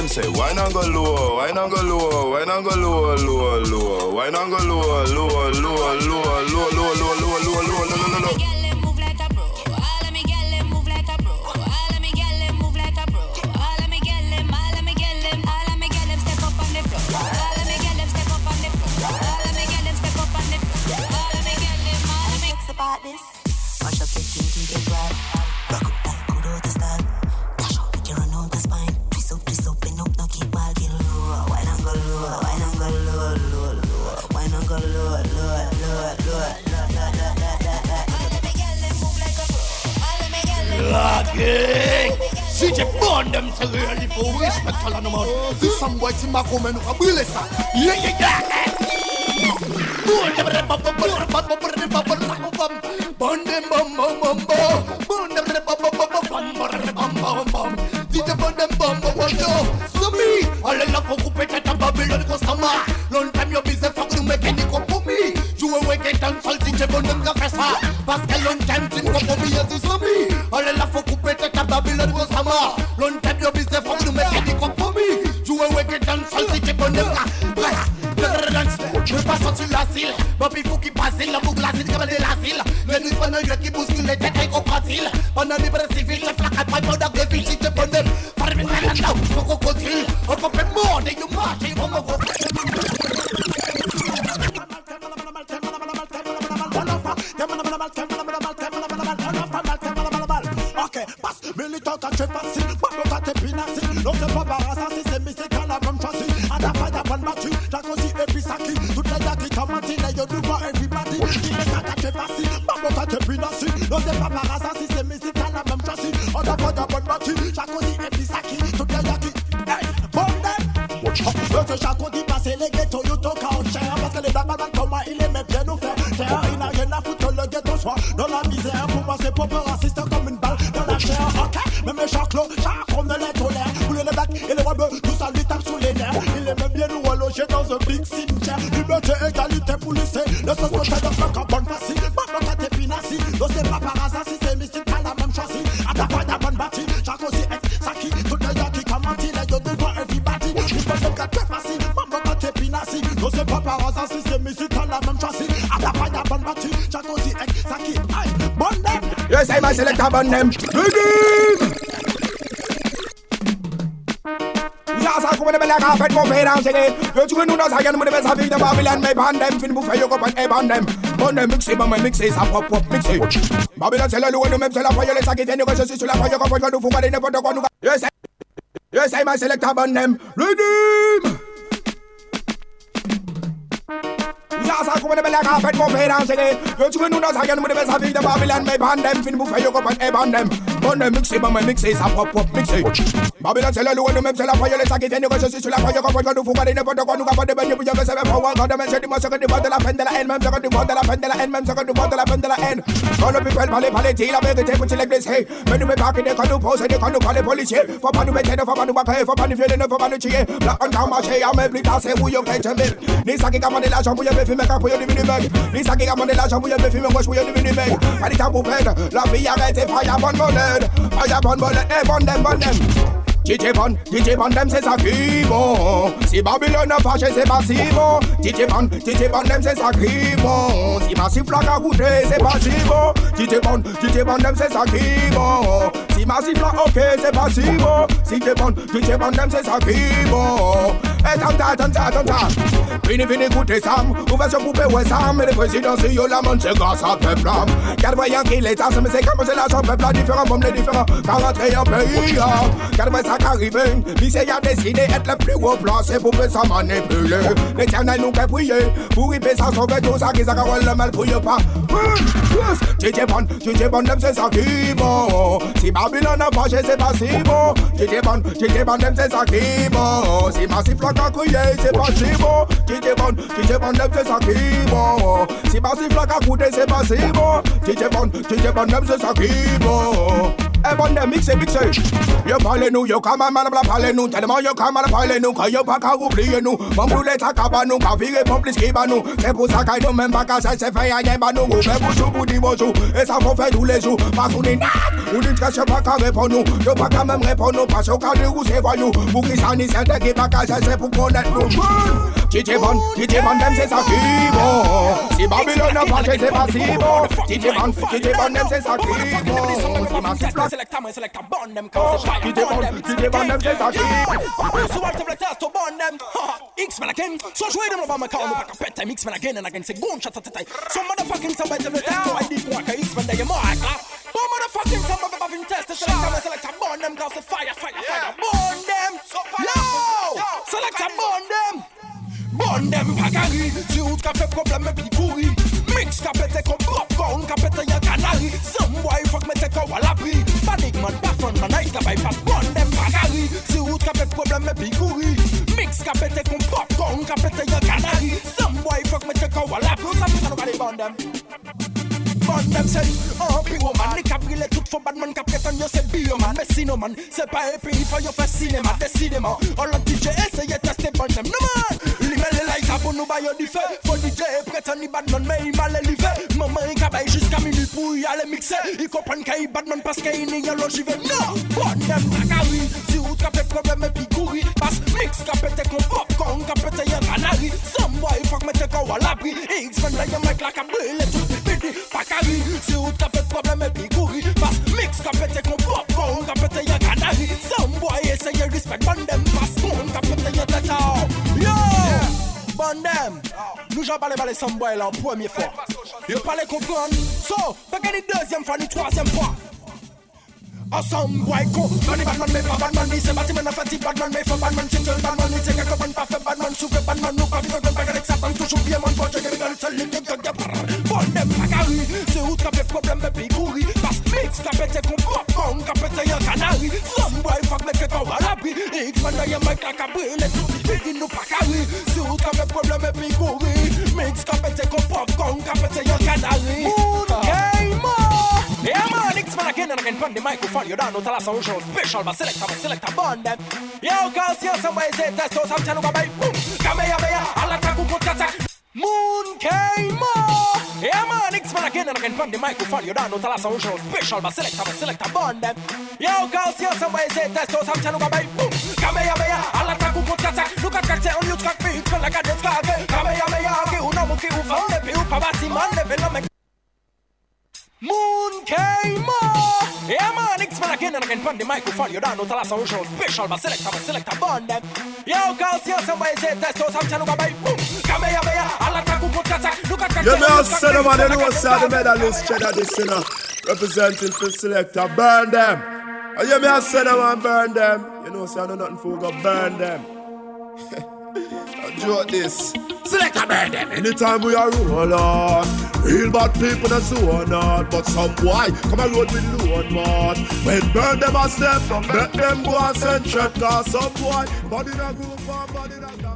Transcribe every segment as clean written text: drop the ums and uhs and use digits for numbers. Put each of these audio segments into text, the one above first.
them say, why not go low, why not go low, why not go low, low, low, why not go low, low, low, low, low, low, low, low, low, low, low, low. CJ burn them to really for respect all on the mouth. This some boy to my woman who will listen. Yeah. Burn them, burn them, so me, all the love for Kupeta Babylon customer. Long time your business for you make any cup for me. You will wake it and salt in Jabon them professor. Pascal long time to come for me as you saw me. All the love for Kupeta Babylon customer. Long time your business for you make any cup for me. You will wake it and salt in Jabon them. Je passe sur l'asile, Bobby faut qu'il passe la boucle l'asile comme de l'asile. Le nuit pendant le qui bouscule les têtes au facile. Pendant les bras civils, les flaques pas pendant que les filles te prennent. Parmi les là, au crocodile, on peut faire mort et you marche et on va ok, passe, militant quand tu passes, pas quand t'es pinassi. Non, c'est pas par hasard, si c'est mystique à la même chassis. À ta faille, à bonne battue, t'as aussi et puis ça qui. Toutes les gars qui commentent, les yeux du bois et puis bâti. Il est quand t'es passi, pas quand t'es pinassi. Non, c'est pas par hasard, si c'est mystique à la même chassis. À ta faille, à bonne battue, t'as aussi et puis ça qui. Toutes les gars qui. Hey, bordel! Ce chaco dit passer les ghettos, you talk out cher. Parce que les blagues comme il aimait bien nous faire. Terre, il n'a rien à foutre, le ghetto soit dans la misère. Pour moi, c'est pas peur, raciste comme une balle dans la chair. Ok, même les chaclos, on ne les tolère. Pour les blacks et les rebeux, tout ça lui tape sous les nerfs. Il aime bien nous allonger dans un big cimetière. Liberté, égalité pour lycée. Le social de notre bonne facile. Pas quand t'es pinassi. Donc c'est pas par hasard si c'est mystique, t'as la même châssis. À ta fois, t'as bonne bâtie. Chaque aussi est ça qui. Tout le gars qui commentent, les gars de voix everybody. Il peut même quand t'es facile. Pas quand t'es pinassi. Donc c'est pas par hasard si c'est mystique, t'as la même châssis. À ta fois, t'as bonne bâtie. Chaque aussi est ça qui. Aïe, bonne name. Yes, I must select a bonne name. Ça comme de belle café pour faire danser. Tu veux nous dans sa gamme de belle vie de Babylone mais bandem fin pour faire copain et bandem. Bandem mixer ça pop mixer. Babylone c'est le loup de même c'est la foyer les sacs qui viennent que je suis sur la foyer quand nous fumons n'importe quoi nous. Yes I must select a bonne name. Redeem. Ça comme de belle café pour faire danser. Tu veux nous dans sa gamme de belle vie de Babylone mais bandem fin pour faire copain et bandem. Bandem mixer ça pop mixer. Babylone c'est le loup de même c'est la foyer les sacs qui viennent que je suis sur la foyer quand nous fumons n'importe quoi nous pas de baigner pour que ça va pouvoir quand demain c'est du mois de la peine de la haine même ça du mois de la peine de la haine même ça du mois de la peine de la haine. Quand le people parle dit la vérité pour les blessés. Mais nous me pas que quand nous posons quand nous parlons policiers. Faut pas nous mettre faut pas nous baquer faut pas nous violer faut pas nous tuer. Là on t'a marché à même plus tard c'est où yo qu'est jamais. Ni ça qui commande l'argent pour y me filmer quand pour y devenir mec. Ni ça qui commande l'argent pour y me filmer moi pour y devenir mec. Pas dit ça pour peine. La vie arrête et pas y a bonne monnaie. Pas y a bonne monnaie et bonne dem. DJ Bandem c'est ça qui bon. Si Babylone a fâché c'est pas si bon. DJ Bandem c'est ça qui bon. Si Massif Flac a goûté c'est pas si bon. DJ Bandem c'est ça qui bon. Si Massif Flac ok c'est pas si bon. DJ Bandem c'est ça qui bon. Et tanta. Fini écoutez Sam. Ouverture poupée ouais Sam. Et le président c'est yo la monde c'est grâce à peuple. Car voyant qu'il est mais c'est comme c'est l'argent peuple différent comme les différents. 41 pays. Car ça qu'arrive, lycée a décidé d'être le plus haut placé pour que ça manipuler. L'éternel nous fait prier, pour y payer ça sauver tout ça qui s'accorde le mal pour y pas. DJ Bandem c'est ça qui bon. Si Babylone a fâché c'est pas si bon. DJ Bandem c'est ça qui bon. Si Massif Flac a crié c'est pas si bon. DJ Bandem c'est ça qui bon. Si Massif Flac a coûté c'est pas si bon. DJ Bandem c'est ça qui bon. Burn them, mix it. You parle nous, you come and malabla parle nous. Tellement you come and parle nous, que you pas qu'à oublier nous. Mon boulet à cabanou, qu'à virer complice qui va nous. C'est pour ça qu'il nous même pas qu'à ça se fait à y avoir nous. Mais bonjour, vous dites bonjour, et ça faut faire tous les jours. Parce qu'on est nat, on dit que c'est pas qu'à répondre nous. You pas qu'à même répondre nous, parce qu'au de où c'est voyou. Pour qui ça n'y c'est qui pas qu'à ça c'est pour connaître nous. DJ Van, dem c'est ça qui bon. Si Babylone n'a pas c'est pas si bon. DJ Van, dem c'est ça qui bon. Select a burn them cause it's fire. DJ Van, dem c'est ça qui bon. So what the test to burn them? X-Men again. So show them over my car. Look at pet time X-Men again and again. Say go and shut at the time. So motherfucking somebody the test to ID for a X-Men they more I clap. But motherfucking somebody having test to select a burn them cause it's fire. Burn them. Yo! Select a burn them. Burn them pagari. Si ou t'as fait problème et puis pourri. Mix capete comme popcorn, capete y'a canari. Some boy fuck me take a l'abri. Panic man, pas fun man, nice guy pass. Burn them pagari. Si ou t'as fait problème et puis pourri. Mix capete comme popcorn, capete y'a canari. Some boy fuck me take a l'abri. Ça fait ça nous burn them. Burn them say, oh pure man, les cabrilles tout for bad man, capete on yo c'est bio man, mais sinon man, c'est pas un pays for yo fait cinéma, décidément. All the DJ essaye tester burn them, no man. Limele like a bon nous baille du feu, faut DJ prétend ni bad man, mais il m'a l'élevé. Maman il cabaye jusqu'à minuit pour y aller mixer. Il comprend qu'il bad man parce qu'il n'y a l'ogive. Non, burn them bagari. Si ou t'as fait problème et puis courir, passe mix capete con popcorn, capete y'a canari. Some boy fuck me take a l'abri. X-Men là y'a mec la cabrile tout bidi. Si ou t'as fait problème et puis courir. Passe mix capete con popcorn, capete y'a canari. Some boy essaye respect, burn them passe con, capete y'a tata. Yo! Burn them! Nous j'en parle some boy là en première fois. Yo parle comprendre. So, fait que les deuxième fois, ni troisième fois. Some boy con, money bad man, mais pas bad man. Ni c'est bâtiment, n'a fait bad man, mais faut bad man. C'est bad man, ni c'est qu'un copain, pas fait bad man. Souffle bad man, nous pas vivre comme pas avec Satan. Toujours bien mon pote, j'ai rigole, seul les gars, burn them, pagari. C'est où t'as fait problème, mais puis courir. Passe mix, capete con popcorn, capete y'a canari. Some boy fuck me fait à l'abri. X-Man y'a mec la cabrile, tout bidi nous pagari. C'est où t'as fait problème, mais puis courir. Mix, capete con popcorn, capete y'a canari. Yeah man, X-Man again and again from the microphone. You don't know tell us how show special, but select a burn them. Yo, cause here somebody say test us, I'm telling you about boom. Kamehameha, I'll attack you, good attack. Moon came on. Yeah man, X-Man again and again from the microphone. You don't know tell us how show special, but select a burn them. Yo, cause here somebody say test us, I'm telling you about boom. Kamehameha, I'll attack you, good attack. Look at cocktail on you, track me, it's like a dead car. Kamehameha, okay, uno muki ufan, le piu pabati man, le venom. Moon came on. Yeah man, X-Man again and again from the microphone. You don't know tell us how show special, but select a burn them. Yo, cause here somebody say test us, I'm telling you about boom. Kamehameha, I'll attack you, good attack. Look at cocktail. You may have said them, and you know say the medalist cheddar this sinner representing for selector, burn them. And you may have said them and burn them. You know say I know nothing for go burn them. Enjoy this. Select a burn them. Anytime we are roll on, real bad people that's so not. But some boy come a road with load mod. When burn them a step, let them go and send check. Cause some boy body na group and body na gang.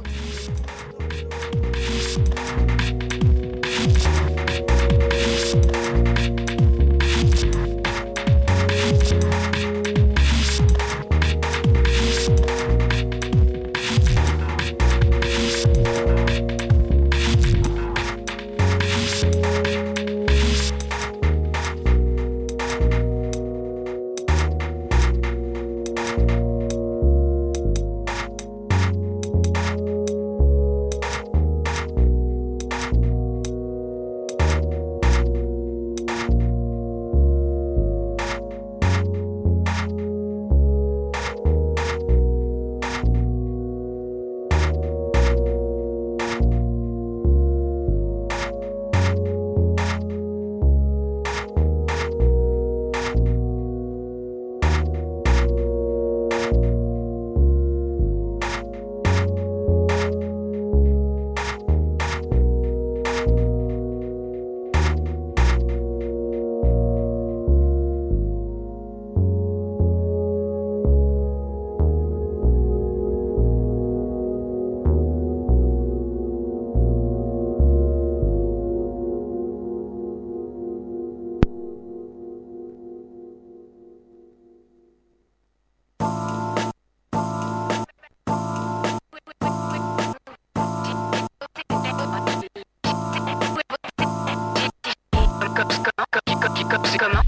Comment?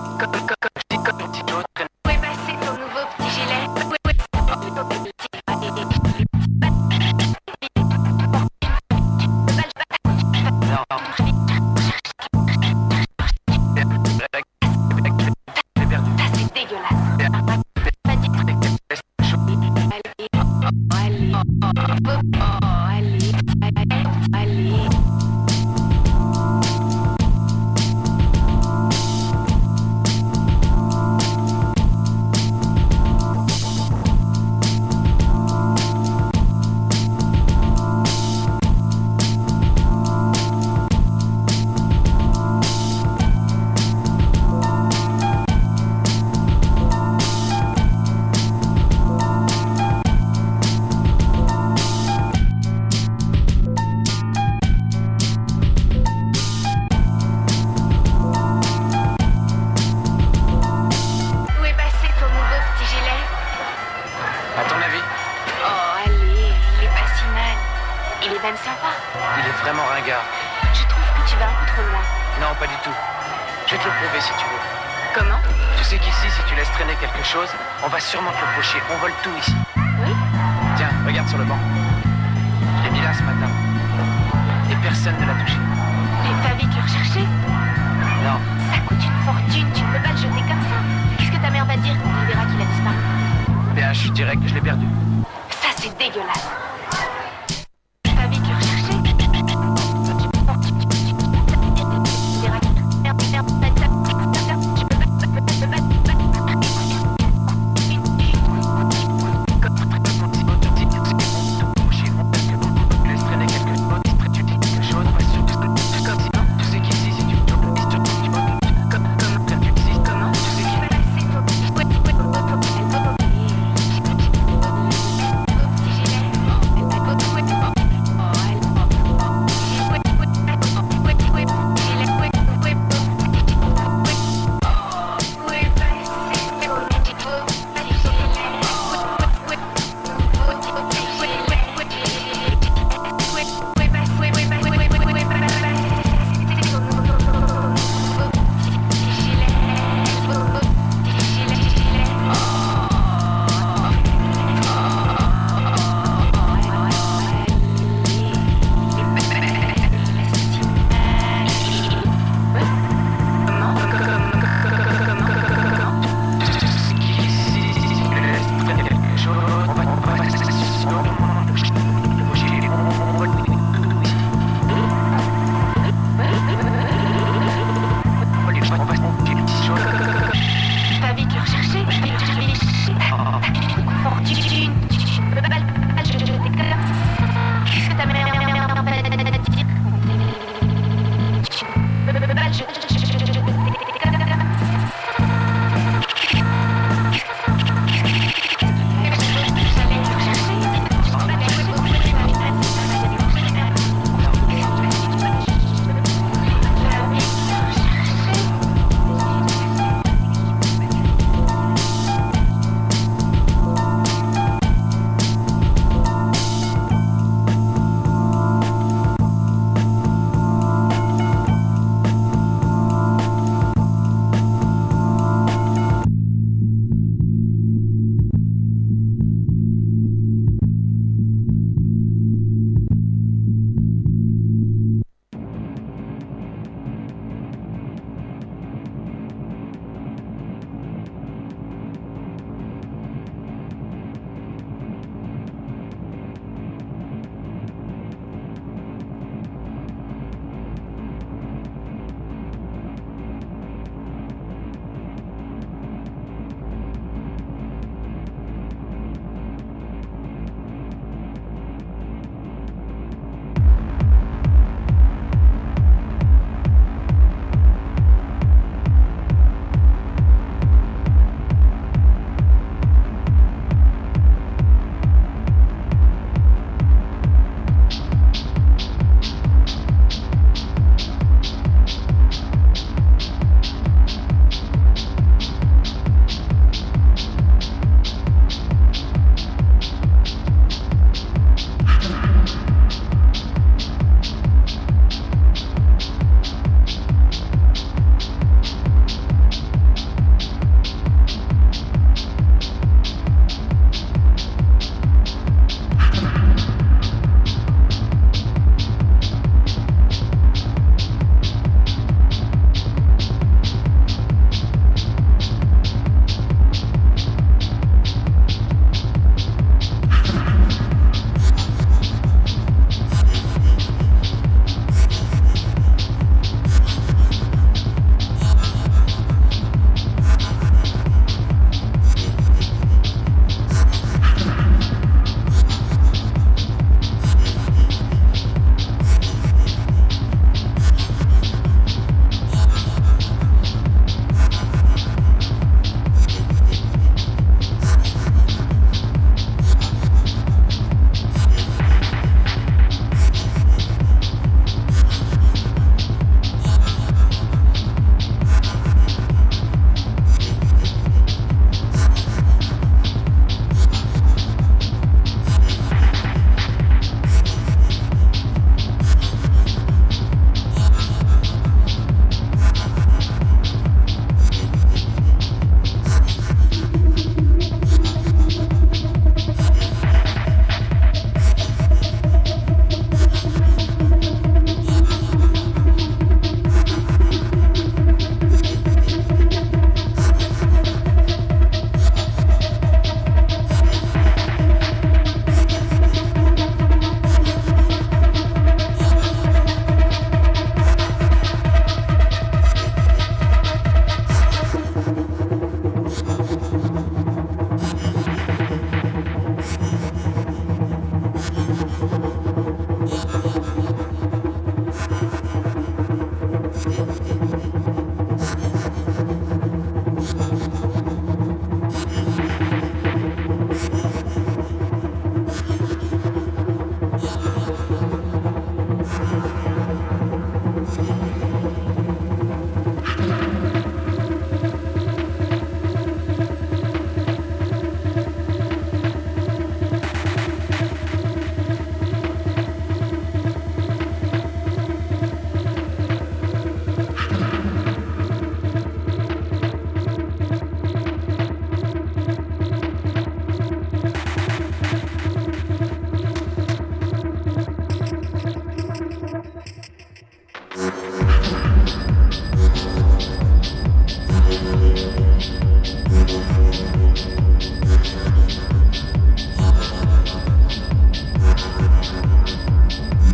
Où est passé ton nouveau petit gilet? Ça c'est dégueulasse. Allez. même sympa. Il est vraiment ringard. Je trouve que tu vas un peu trop loin. Non, pas du tout. Je vais te le prouver si tu veux. Comment? Tu sais qu'ici, si tu laisses traîner quelque chose, on va sûrement te le pocher. On vole tout ici. Oui? Tiens, regarde sur le banc. Je l'ai mis là ce matin. Et personne ne l'a touché. Mais t'as vite le rechercher? Non. Ça coûte une fortune, tu ne peux pas le jeter comme ça. Qu'est-ce que ta mère va dire quand elle verra qu'il a disparu? Bien, je dirais que je l'ai perdu. Ça, c'est dégueulasse. T'as vite le rechercher?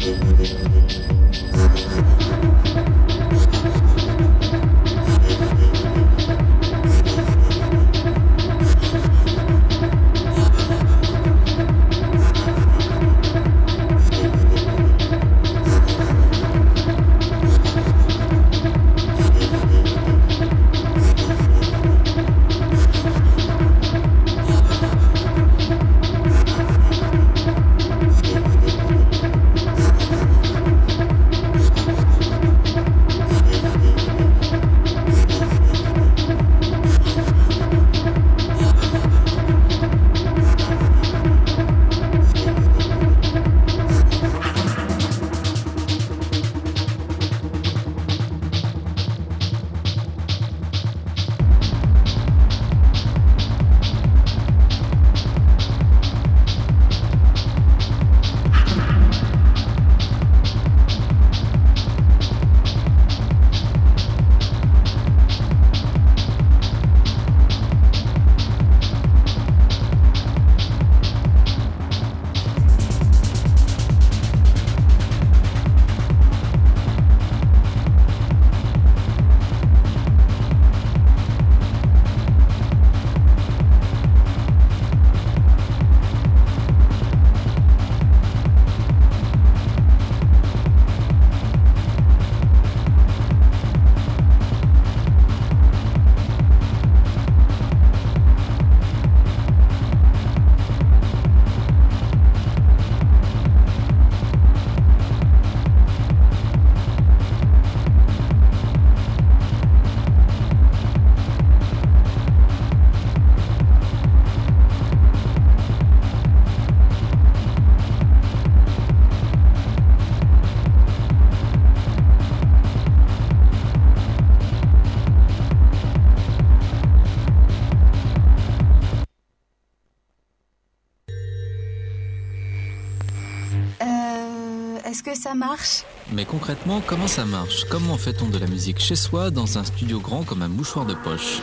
Est-ce que ça marche? Mais concrètement, comment ça marche? Comment fait-on de la musique chez soi dans un studio grand comme un mouchoir de poche?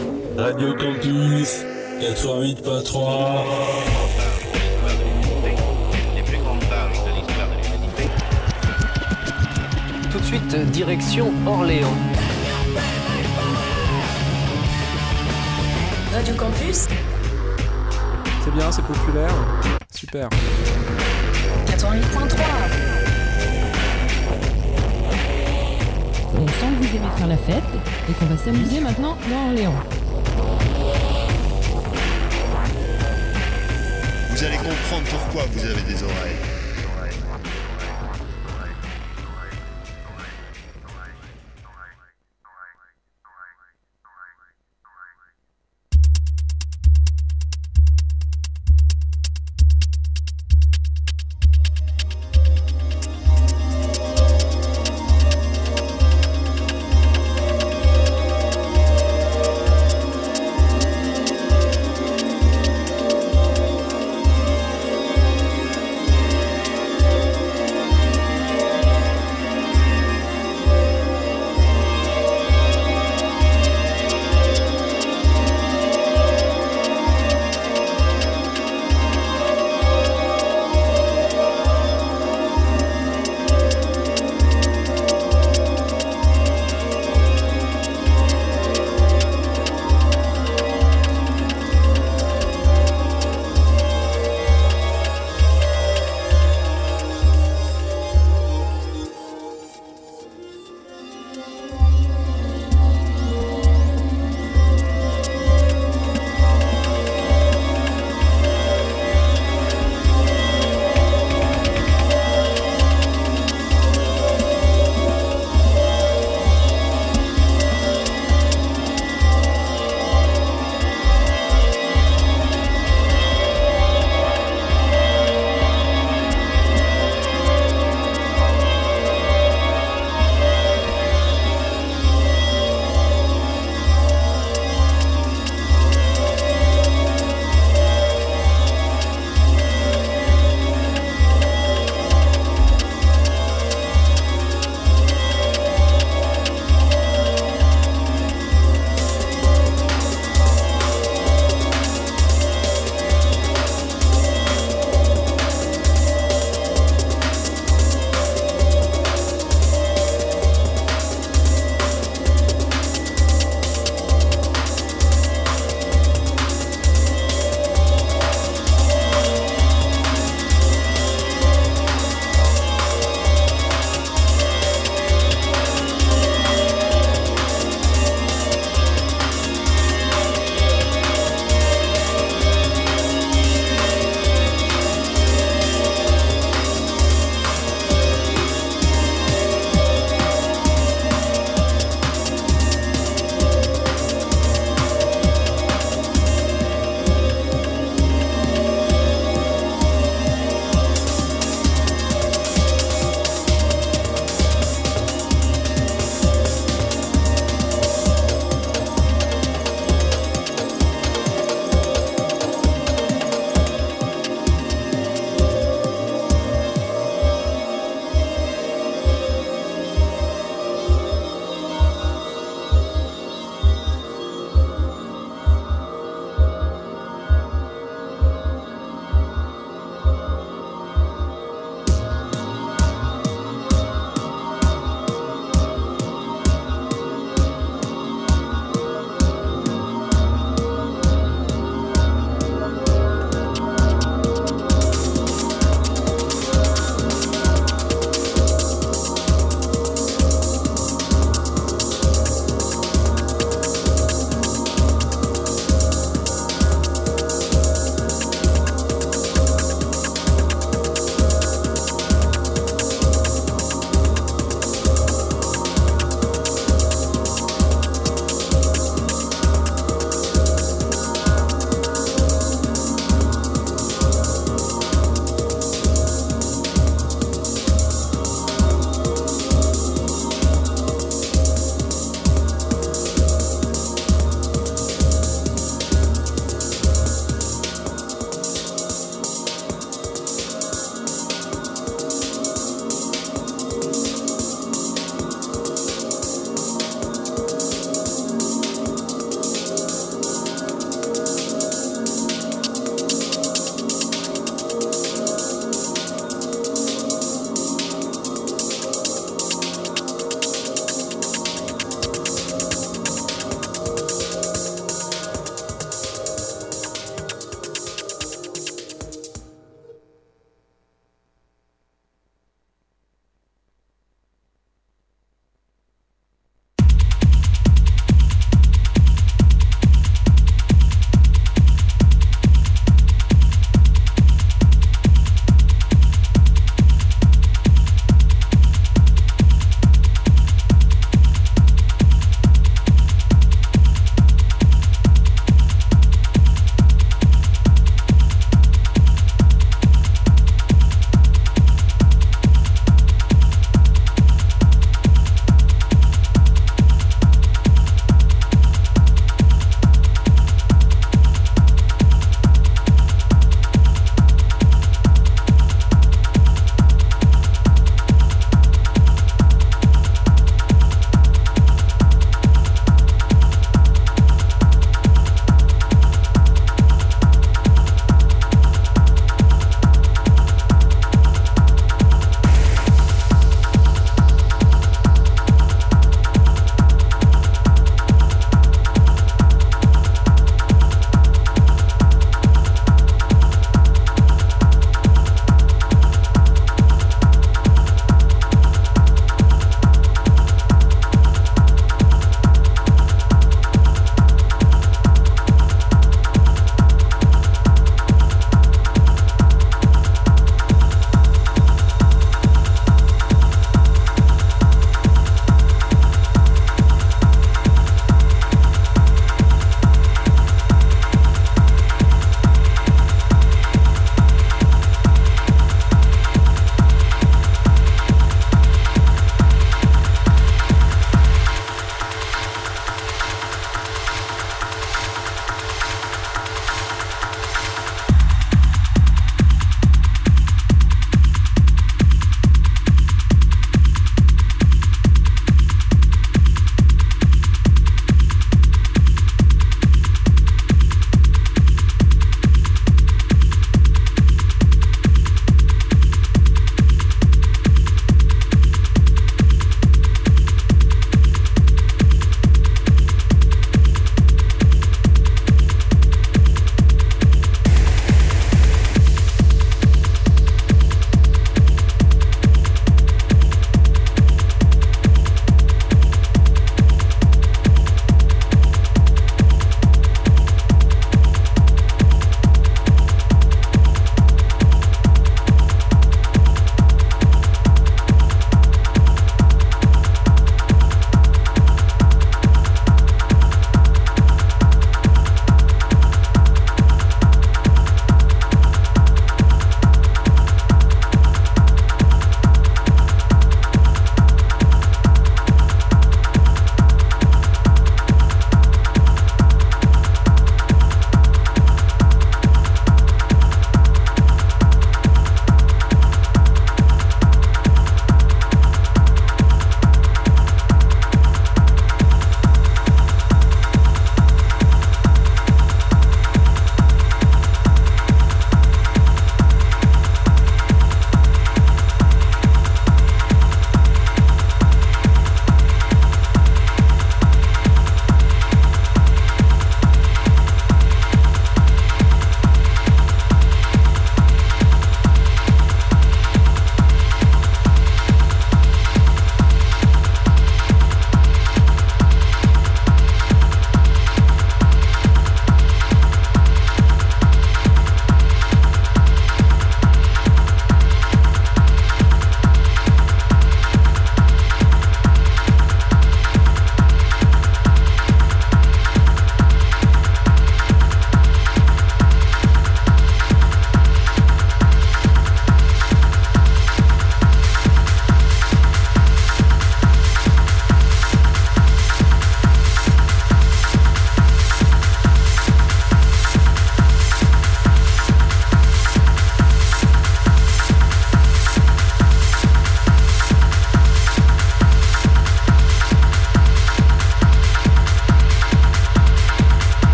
Radio Campus 88.3. Les plus grandes pages de l'histoire de l'humanité. Tout de suite, direction Orléans. Radio Campus. C'est bien, c'est populaire. Super. 88.3. On sent que vous aimez faire la fête et qu'on va s'amuser maintenant dans Orléans. Vous allez comprendre pourquoi vous avez des oreilles.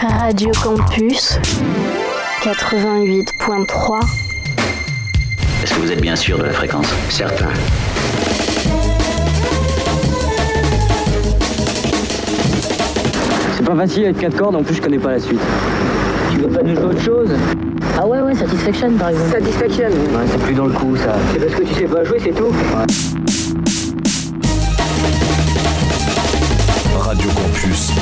Radio Campus 88.3. Est-ce que vous êtes bien sûr de la fréquence? Certain. C'est pas facile avec 4 cordes, en plus je connais pas la suite. Tu veux pas nous jouer autre chose? Ah ouais, Satisfaction par exemple. Satisfaction? Ouais, c'est plus dans le coup ça. C'est parce que tu sais pas jouer, c'est tout? Ouais. Radio Campus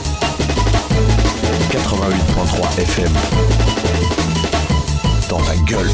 88.3 FM. Dans ta gueule.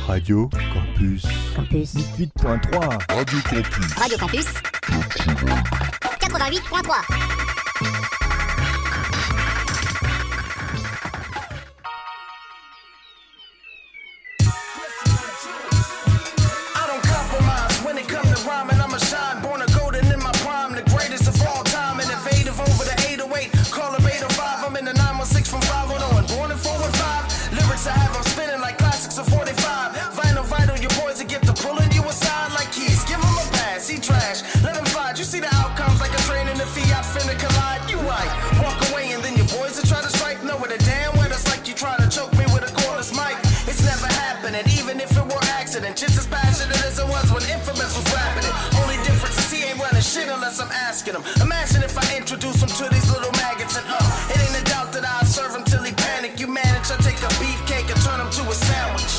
Radio Campus. Campus 88.3. Radio Campus. Radio Campus 88.3. Just as passionate as it was when Infamous was rapping it. Only difference is he ain't running shit unless I'm asking him. Imagine if I introduce him to these little maggots and it ain't a doubt that I'll serve him till he panic. You manage, I take a beefcake and turn him to a sandwich.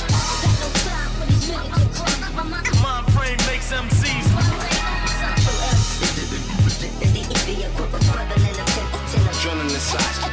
My frame makes MCs. Joining the side.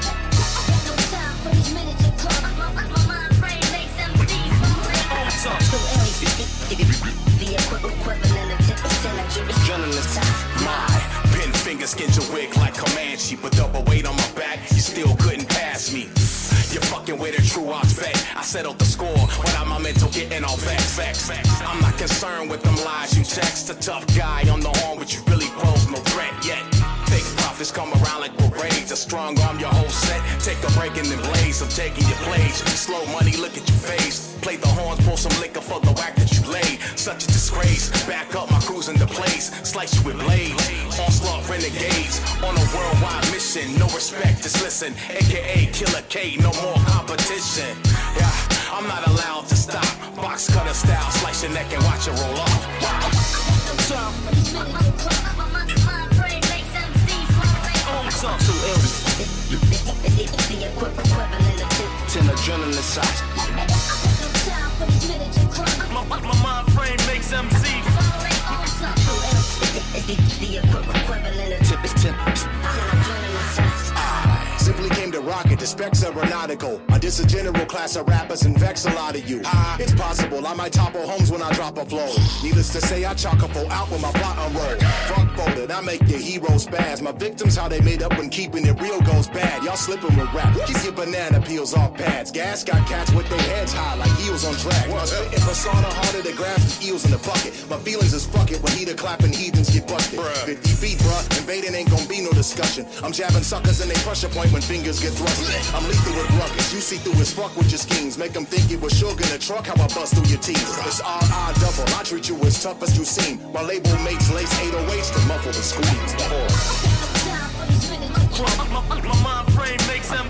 My pin finger skinned your wig like Comanche, but double weight on my back, you still couldn't pass me. You're fucking with a true odds vet. I settled the score without my mental getting all facts. I'm not concerned with them lies you text. A tough guy on the horn, but you really pose no threat yet. Fake profits come around like parades. A strong arm, your whole set. Take a break and then blaze. I'm taking your plays. Slow money, look at your face. Play the horns, pour some liquor for the whack that you laid. Such a disgrace. Back up my cruise into place. Slice you with blades. Onslaught renegades. On a worldwide mission. No respect, just listen. AKA Killer K, no more competition. Yeah, I'm not allowed to stop. Box cutter style. Slice your neck and watch it roll off. Too ill. The equivalent of 10 adrenaline shots. My mind frame makes MCs. The equivalent of 10 adrenaline shots. Simply came to rock it, the specs are aeronautical. I diss a general class of rappers and vex a lot of you. It's possible I might topple homes when I drop a flow. Needless to say, I chalk a foe out when my plot unroll. Fuck folded, I make your heroes spaz. My victims, how they made up when keeping it real goes bad. Y'all slipping with rap, keep your banana peels off pads. Gas got cats with their heads high like heels on drag. My spitting persona harder to grab than eels in the bucket. My feelings is fuck it when heater clapping heathens get busted. 50 feet, bruh, invading ain't gon' be no discussion. I'm jabbing suckers and they pressure point when fingers get thrusted. I'm lethal with ruckus, you see through his fuck with your schemes. Make them think it was sugar in the truck, how I bust through your teeth. It's R.I. double, I treat you as tough as you seem. My label mates lace 808s to muffle the squeeze. My mind frame makes them.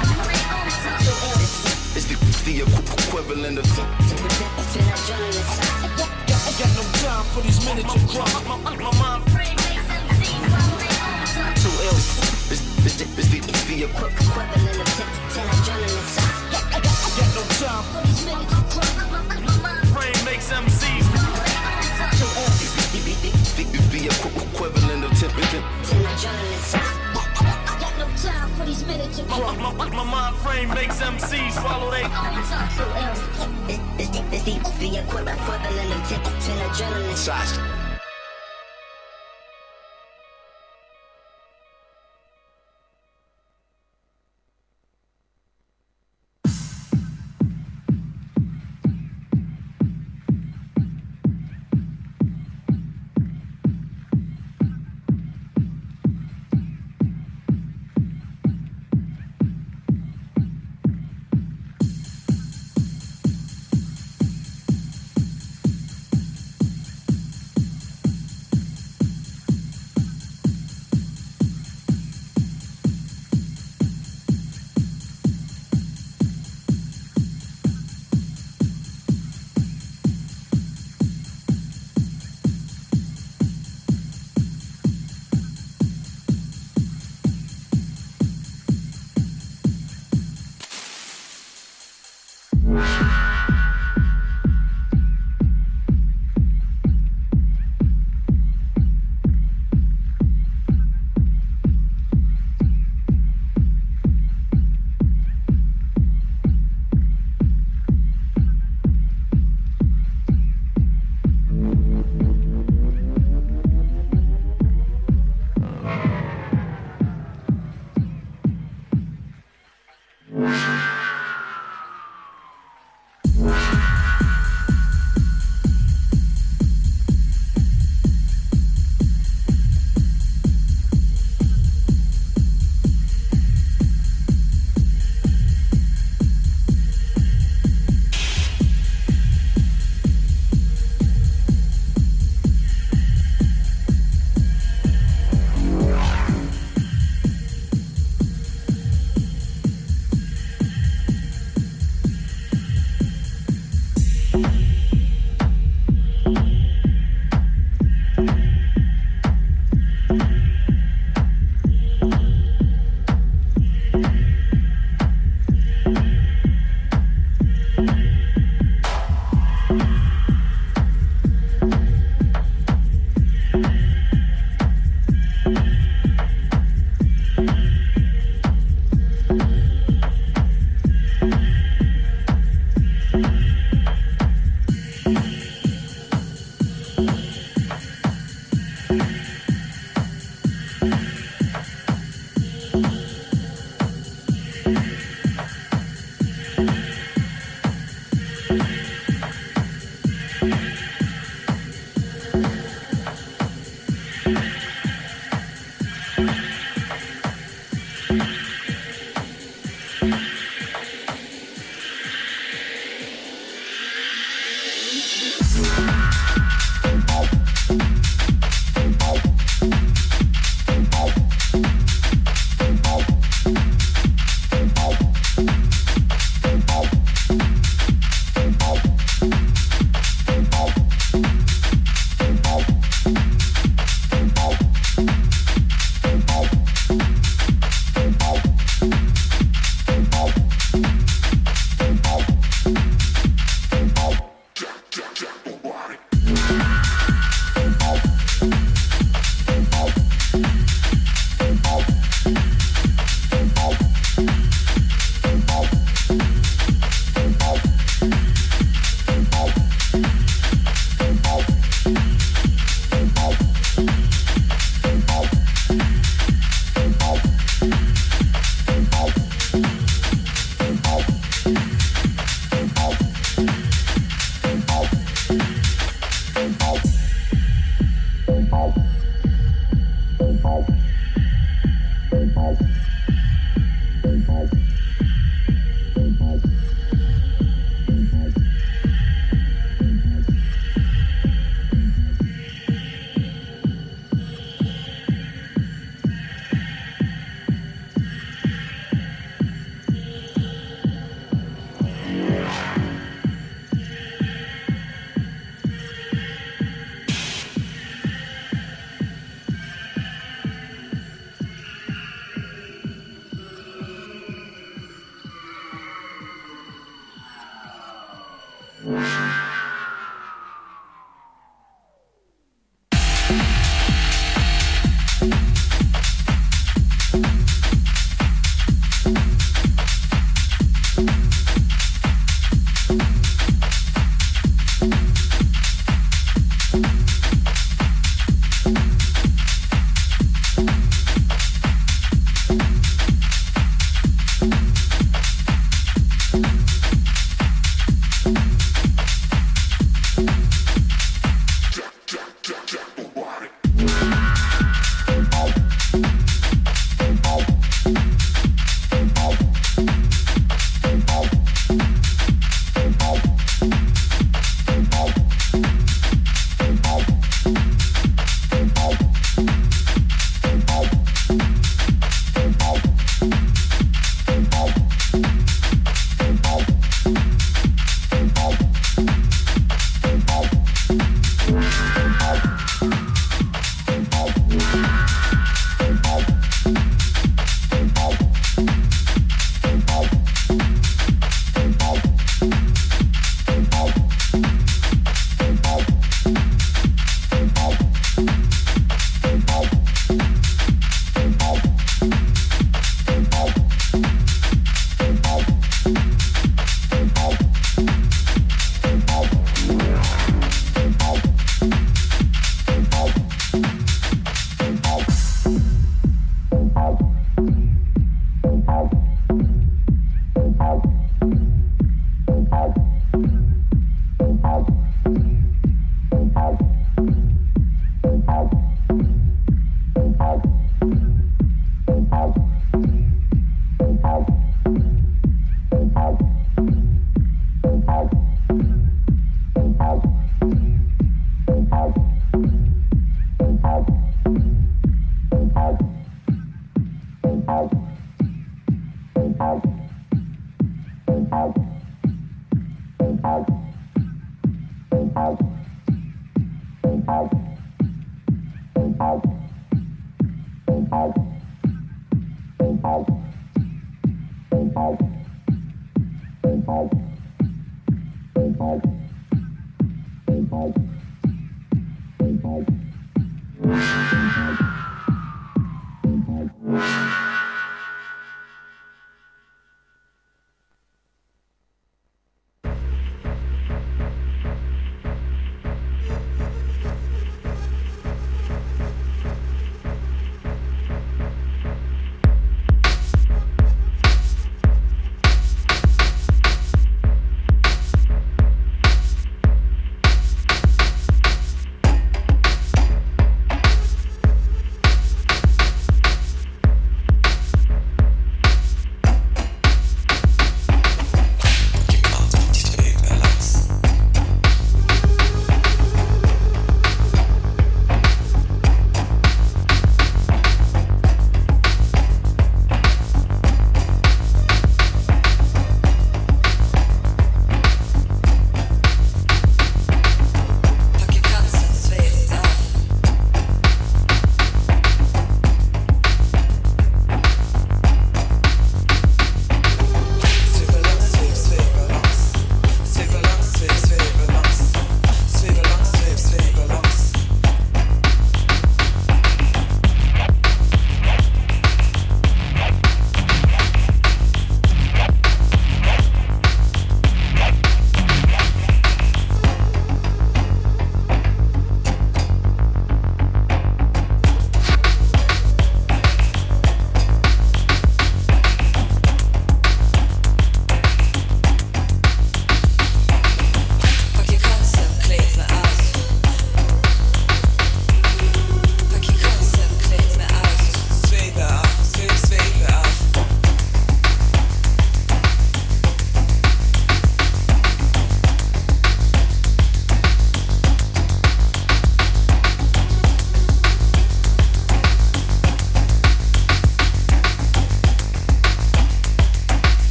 It's the equivalent of 10 adrenaline. I got no time for these miniature crumbs. My mind frame makes them. Too ill. It's the equivalent of 10 adrenaline. I got no time for these miniature crumbs. My mind frame makes MCs. Too ill. The equivalent of 10 adrenaline. Time for these miniature my mind frame makes MCs follow they. It's the equivalent of 10 adrenaline shots.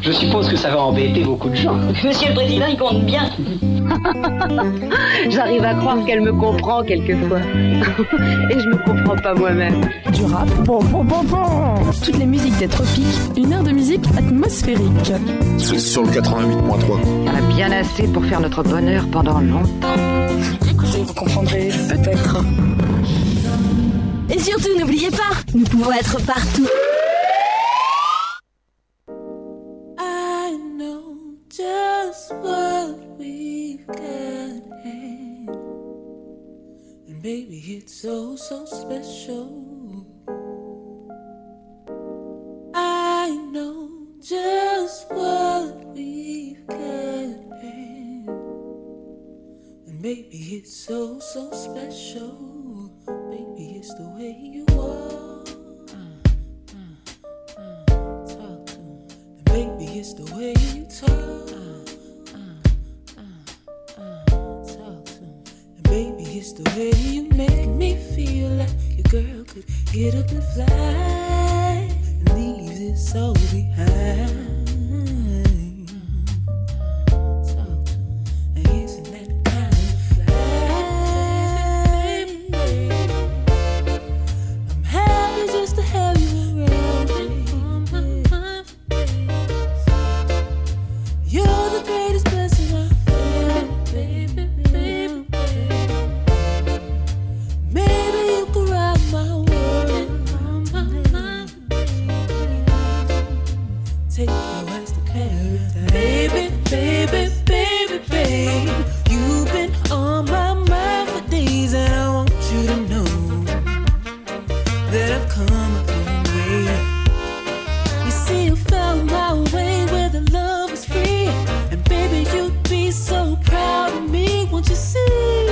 Je suppose que ça va embêter beaucoup de gens. Monsieur le Président, il compte bien. J'arrive à croire qu'elle me comprend quelquefois. Et je me comprends pas moi-même. Du rap, toutes les musiques des tropiques, une heure de musique atmosphérique. Sur le 88.3. On a bien assez pour faire notre bonheur pendant longtemps. Écoutez, vous comprendrez peut-être. Et surtout, n'oubliez pas, nous pouvons être partout. I know just what we've got in. And baby, it's so, so special. I know just what we've got in. And baby, it's so, so special. Baby, it's the way you are. Talk to me. And baby, it's the way you talk. Talk to me. And baby, it's the way you make me feel like your girl could get up and fly and leave this all behind. Talk to me. And isn't that kind of fly? I'm happy just to have you around, baby. You're the greatest blessing I've had, baby, baby, baby. Maybe you could rock my world. Take your ass to paradise, baby, baby, baby, baby. You've been on my mind for days, and I want you to know that I've come a long way. You see, you found my way where the love is free, and baby, you'd be so proud of me. Won't you see?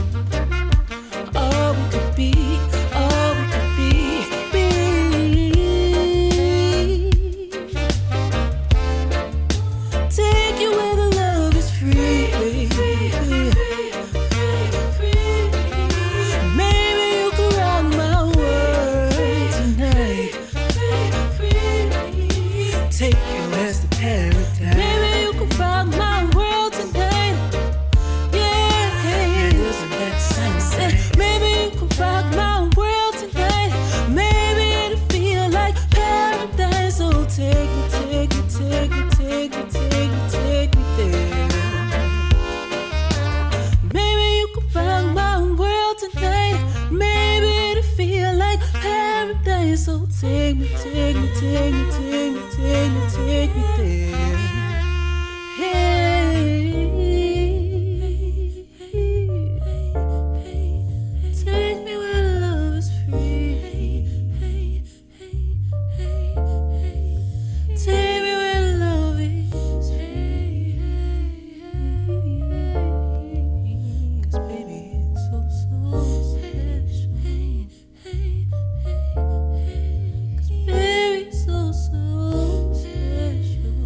All we could be, all we could be. Take you where the love is free. Maybe you could rock my world tonight. Take your ass to paradise. Maybe you could rock my world tonight. Yeah, doesn't that sound good? Maybe you could rock my world tonight. Maybe it'll feel like paradise. So take me, take me, take me, take me, take me, take me there. Maybe you could rock my world tonight. Maybe it'll feel like paradise. So take me, take me, take me, take me, take me, take me there. Take me where love is free. Take me where love is free. 'Cause baby, it's so, so special. 'Cause baby, it's so, so special.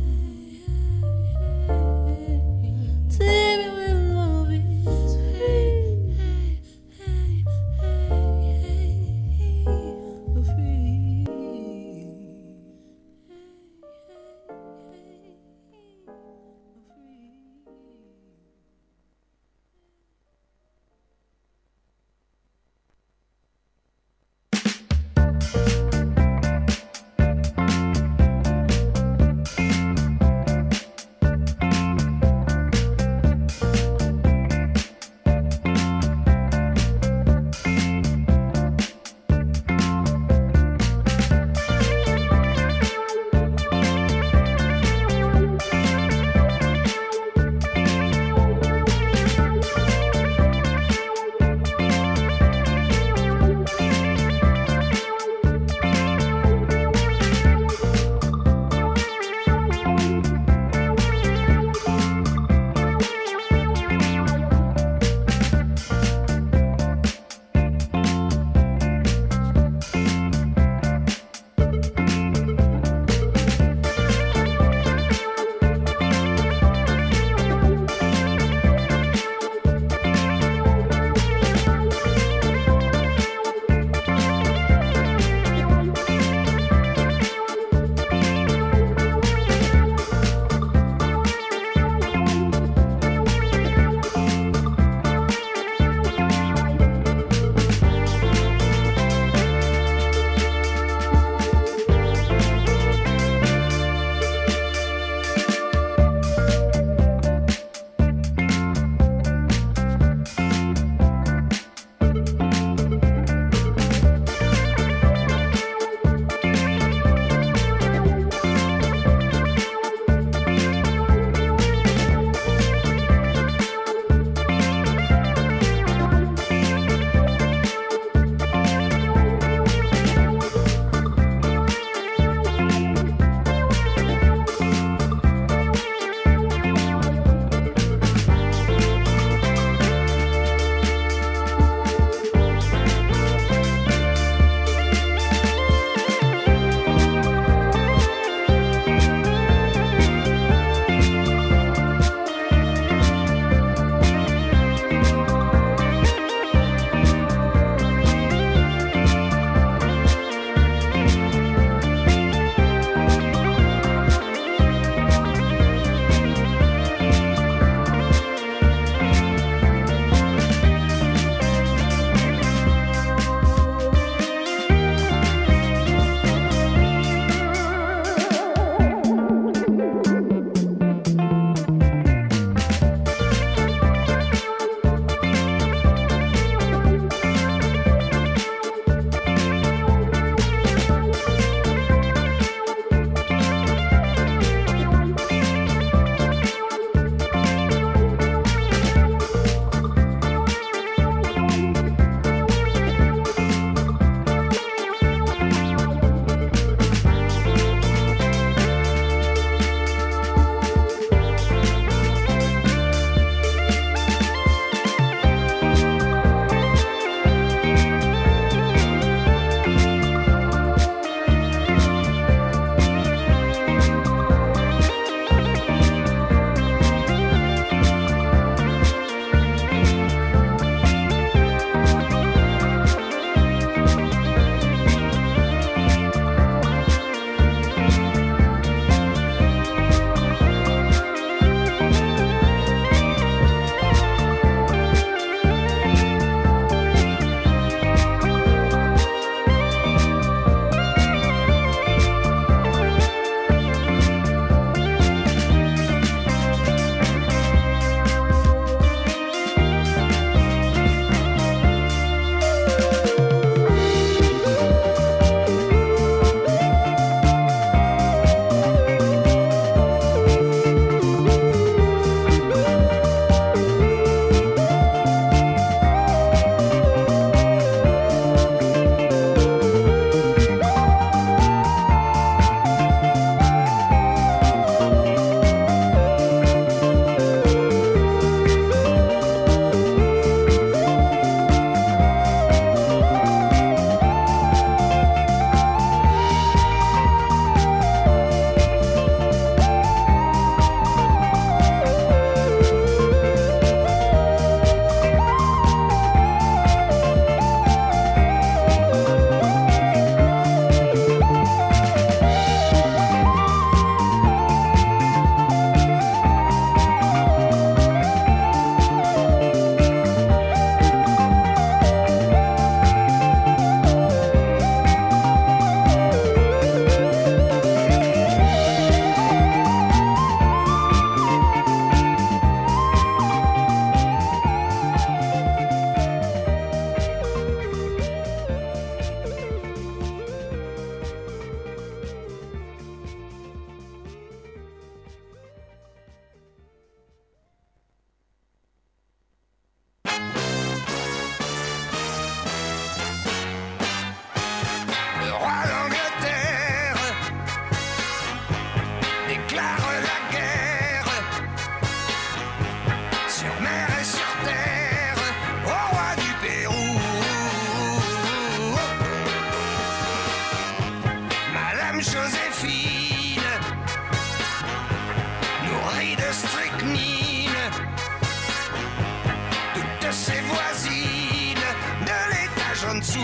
en dessous,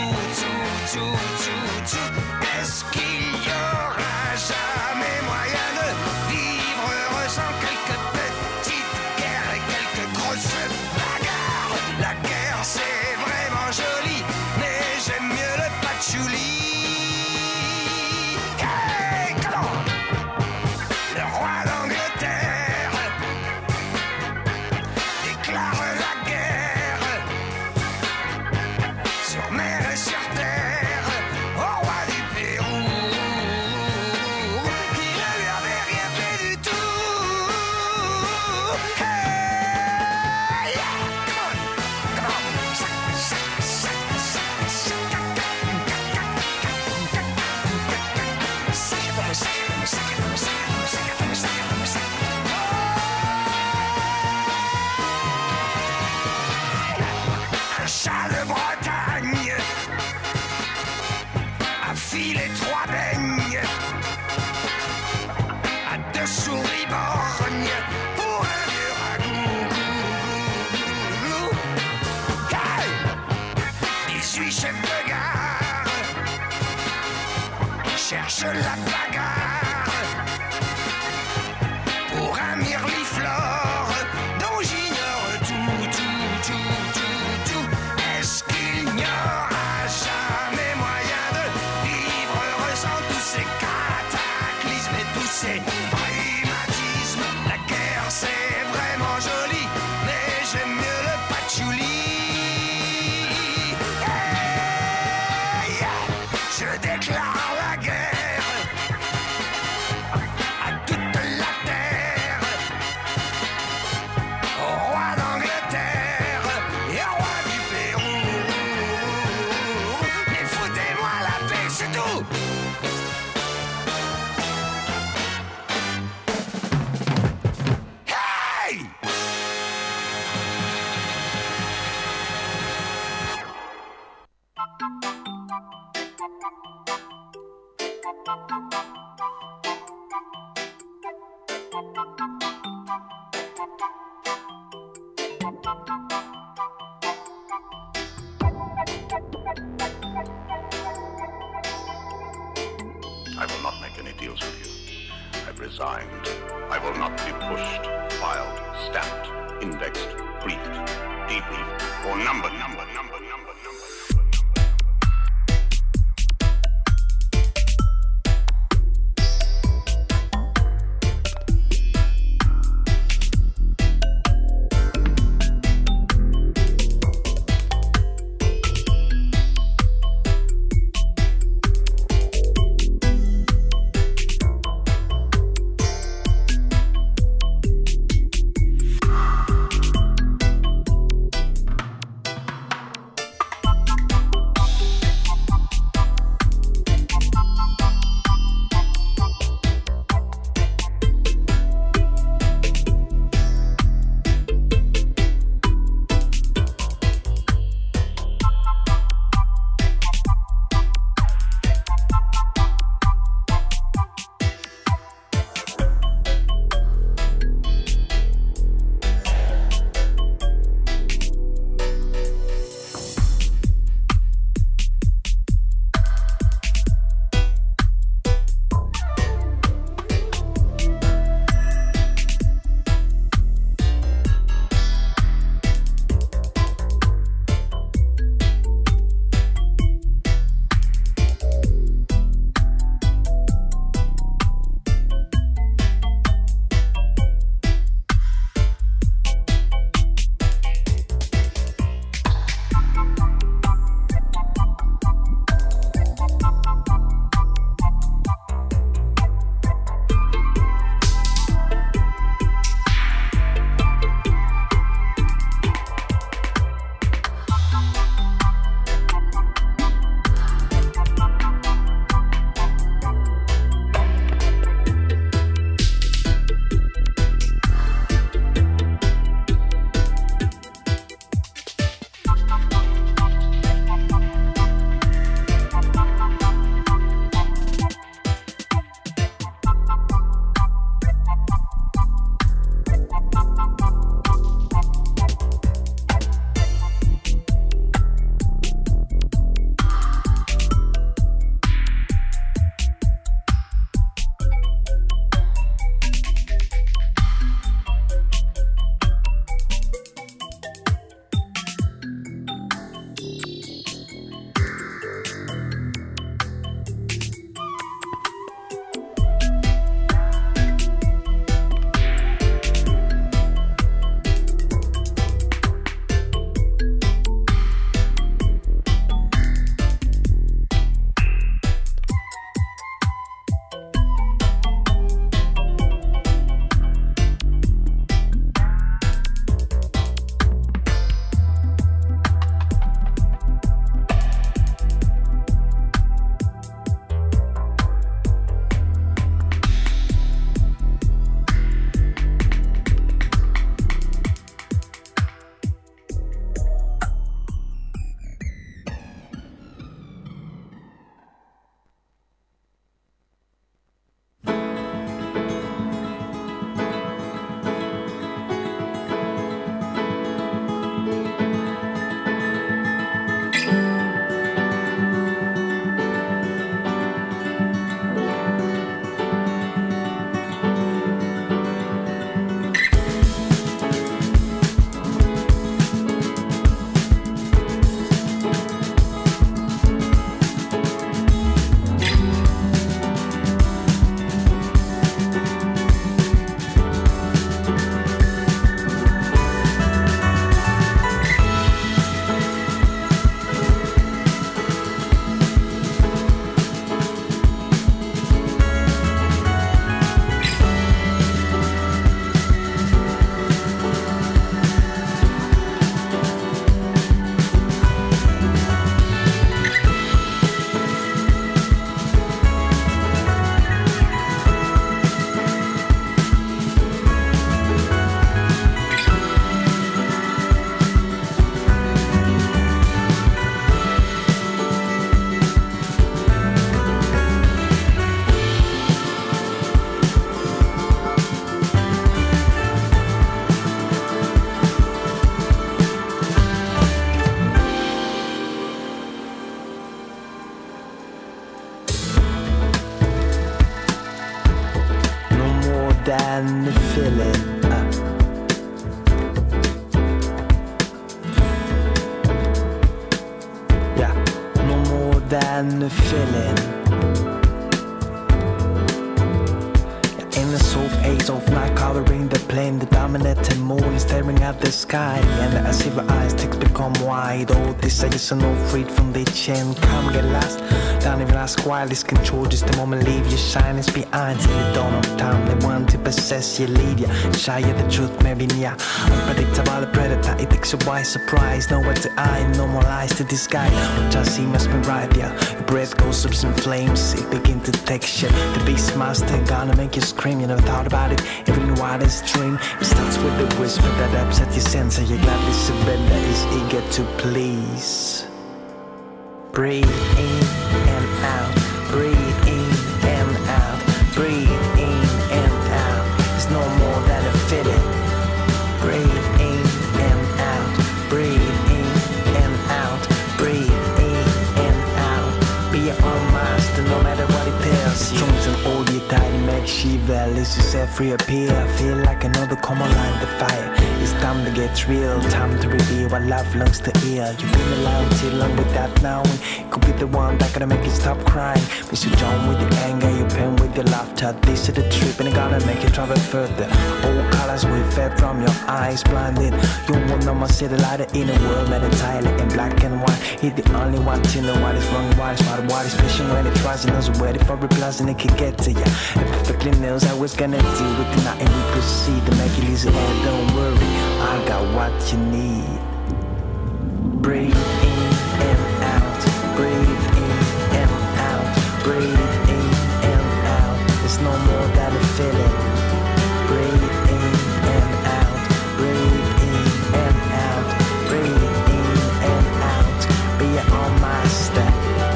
est-ce qu'il y aura jamais moyen de vivre heureux sans quelques petites guerres et quelques grosses bagarres? La guerre c'est vraiment joli, mais j'aime mieux le patchouli. Hey, comment? Le roi d'Angleterre déclare la guerre sur mer et sur terre au roi du Pérou, qui ne lui avait rien fait du tout. Hey, yeah, come on, un chat de Bretagne a filé 3 beignes à 2 souris borgnes pour un vieux ragoût. Hey, 18 chefs de gare cherchent la bagarre pour un mirliflore dont j'ignore tout. Est-ce qu'il n'y aura jamais moyen de vivre heureux sans tous ces cataclysmes et tous ces rhumatismes? La guerre c'est vraiment joli, mais j'aime mieux le patchouli. Hey, je déclare la guerre à toute la terre, au roi d'Angleterre et au roi du Pérou. Mais foutez-moi la paix, c'est tout. Hey! I will not make any deals with you. I've resigned. I will not be pushed, filed, stamped, indexed, briefed, debriefed, or numbered. than the feeling. Yeah, no more than the feeling. In the soft haze of night covering the plain, the dominating moon is staring at the sky, and as if her eyes ticks become wide. All this is no freed from the chain. Come get lost, don't even ask why. This control just the moment leave your shyness behind. Till the dawn of time, they want to possess you, lead you shy of the truth, maybe near. Unpredictable predator, it takes you by surprise. Nowhere to hide, no more lies to disguise. What I see must be right, yeah. Your breath goes up in flames, it begin to take shape. The beast master gonna make you scream. You never thought about it, every wildest dream. It starts with the whisper that upsets your sense. You gladly surrender, is eager to please. Breathe in and out, breathe in and out, breathe in and out. It's no more than a feeling. Breathe in and out, breathe in and out, breathe in and out. Be your own master no matter what it tells you. Strong and all you die to make shiver. Let's just set free appear. Feel like another come alive the fire. It's time to get real, time to reveal what love longs to hear. You've been alive too long without knowing. It could be the one that gonna make you stop crying. Miss you John with your anger, your pain with your laughter. This is the trip and it's gonna make you travel further. All colors will fade from your eyes blinded. You won't know my city lighter in a world made entirely in black and white. He's the only one to know what is wrong and what is right. What is patient when it tries and knows ready for replies and it can get to you. It perfectly knows how it's gonna deal with the night and we proceed to make it easy and don't worry. I got what you need. Breathe in and out, breathe in and out, breathe in and out. It's no more than a feeling. Breathe in and out, breathe in and out, breathe in and out. Be your own master.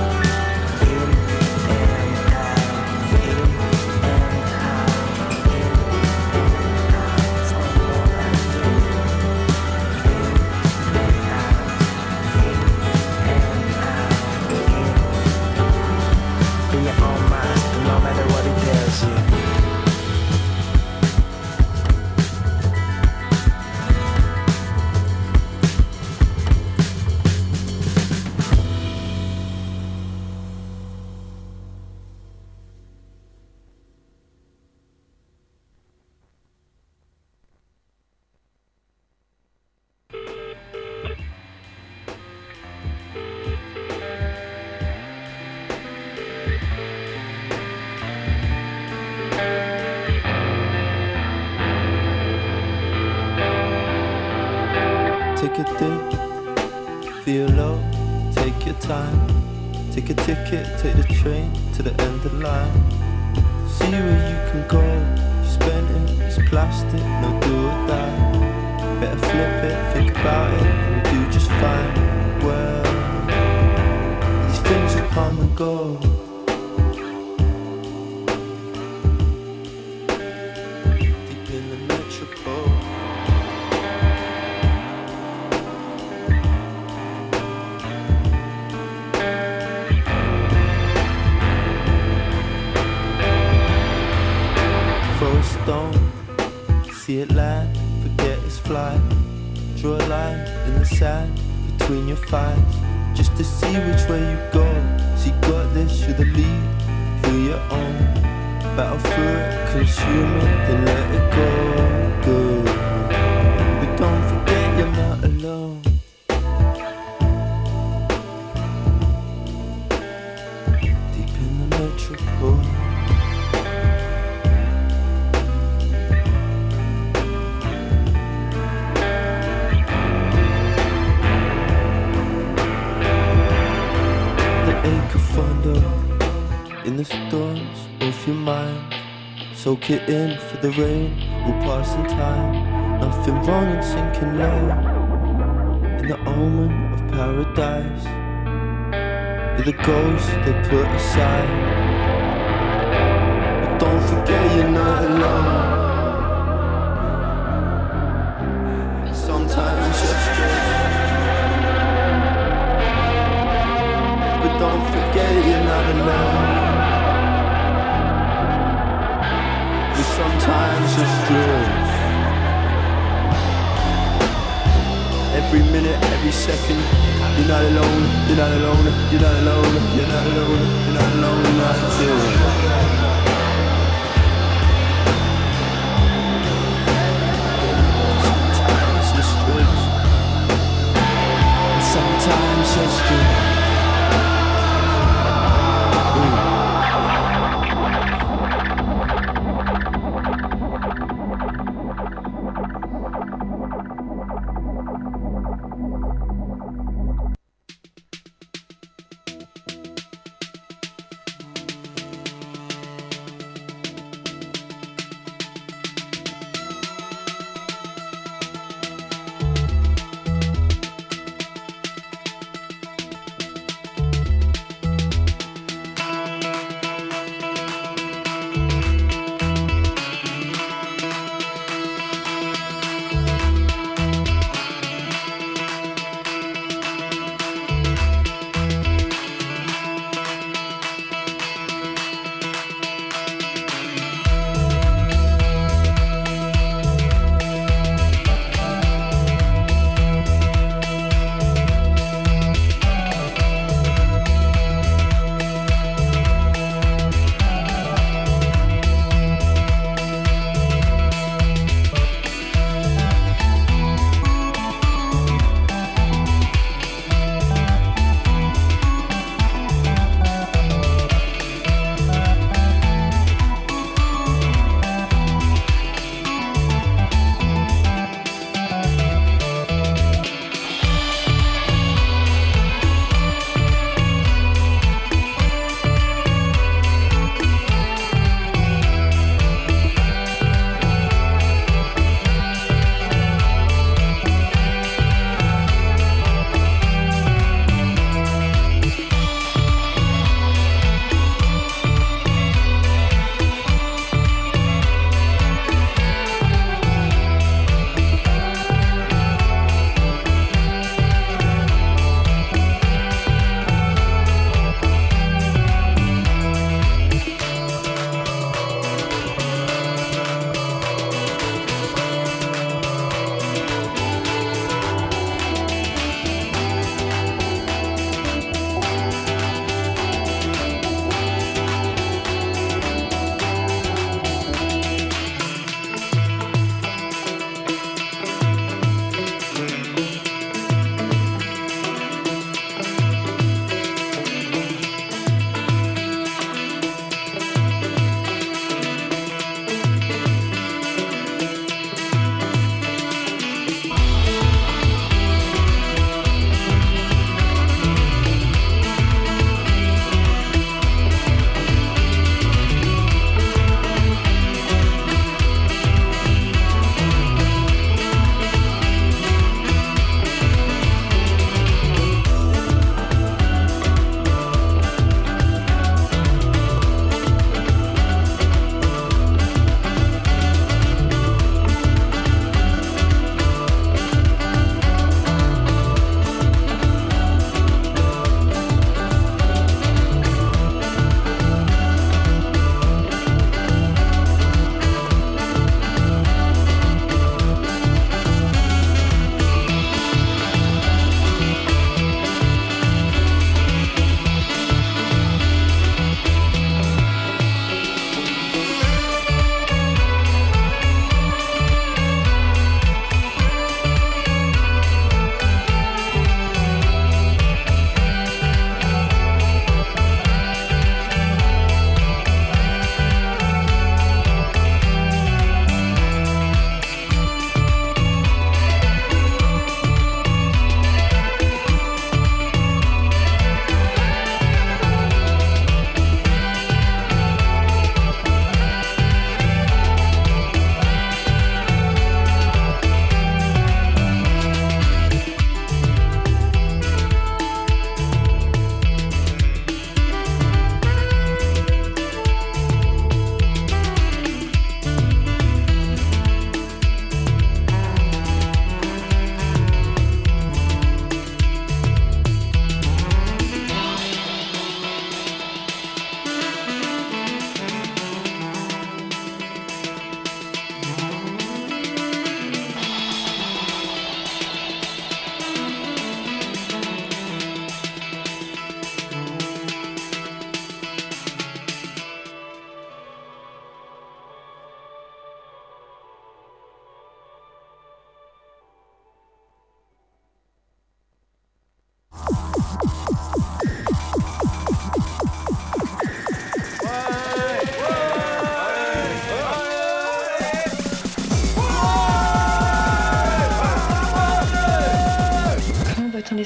In and out, in and out, in and out. It's no more than a feeling. Be your own master, no matter what it tells you. Take a dip, feel low, take your time. Take a ticket, take the train to the end of the line. See where you can go, you spend it, it's plastic, no do or die. Better flip it, think about it, and do just fine. Well, these things will come and go. Deep in the metropole. Stone, see it land, forget its flight. Draw a line in the sand between your thighs, just to see which way you go. So you got this, you're the lead, feel your own. Battle through it, consume it, then let it go. Good, but don't forget you're not alone. Deep in the metropole. In the storms of your mind, soak it in for the rain will pass in time. Nothing wrong in sinking low in the omen of paradise. You're the ghost they put aside, but don't forget you're not alone. Sometimes you're straight, but don't forget you're not alone. Sometimes drugs. Every minute, every second, you're not alone, you're not alone, you're not alone, you're not alone, you're not alone, not sometimes just drugs, and sometimes just drugs.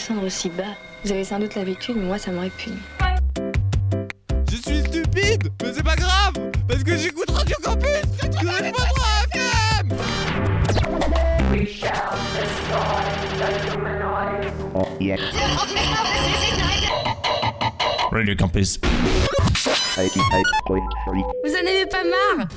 descendre aussi bas. Vous avez sans doute l'habitude, mais moi ça m'aurait puni. Je suis stupide, mais c'est pas grave, parce que j'écoute Radio Campus 93 FM. We shall destroy the humanoids. Oh, yeah. Radio Campus. Vous en avez pas marre?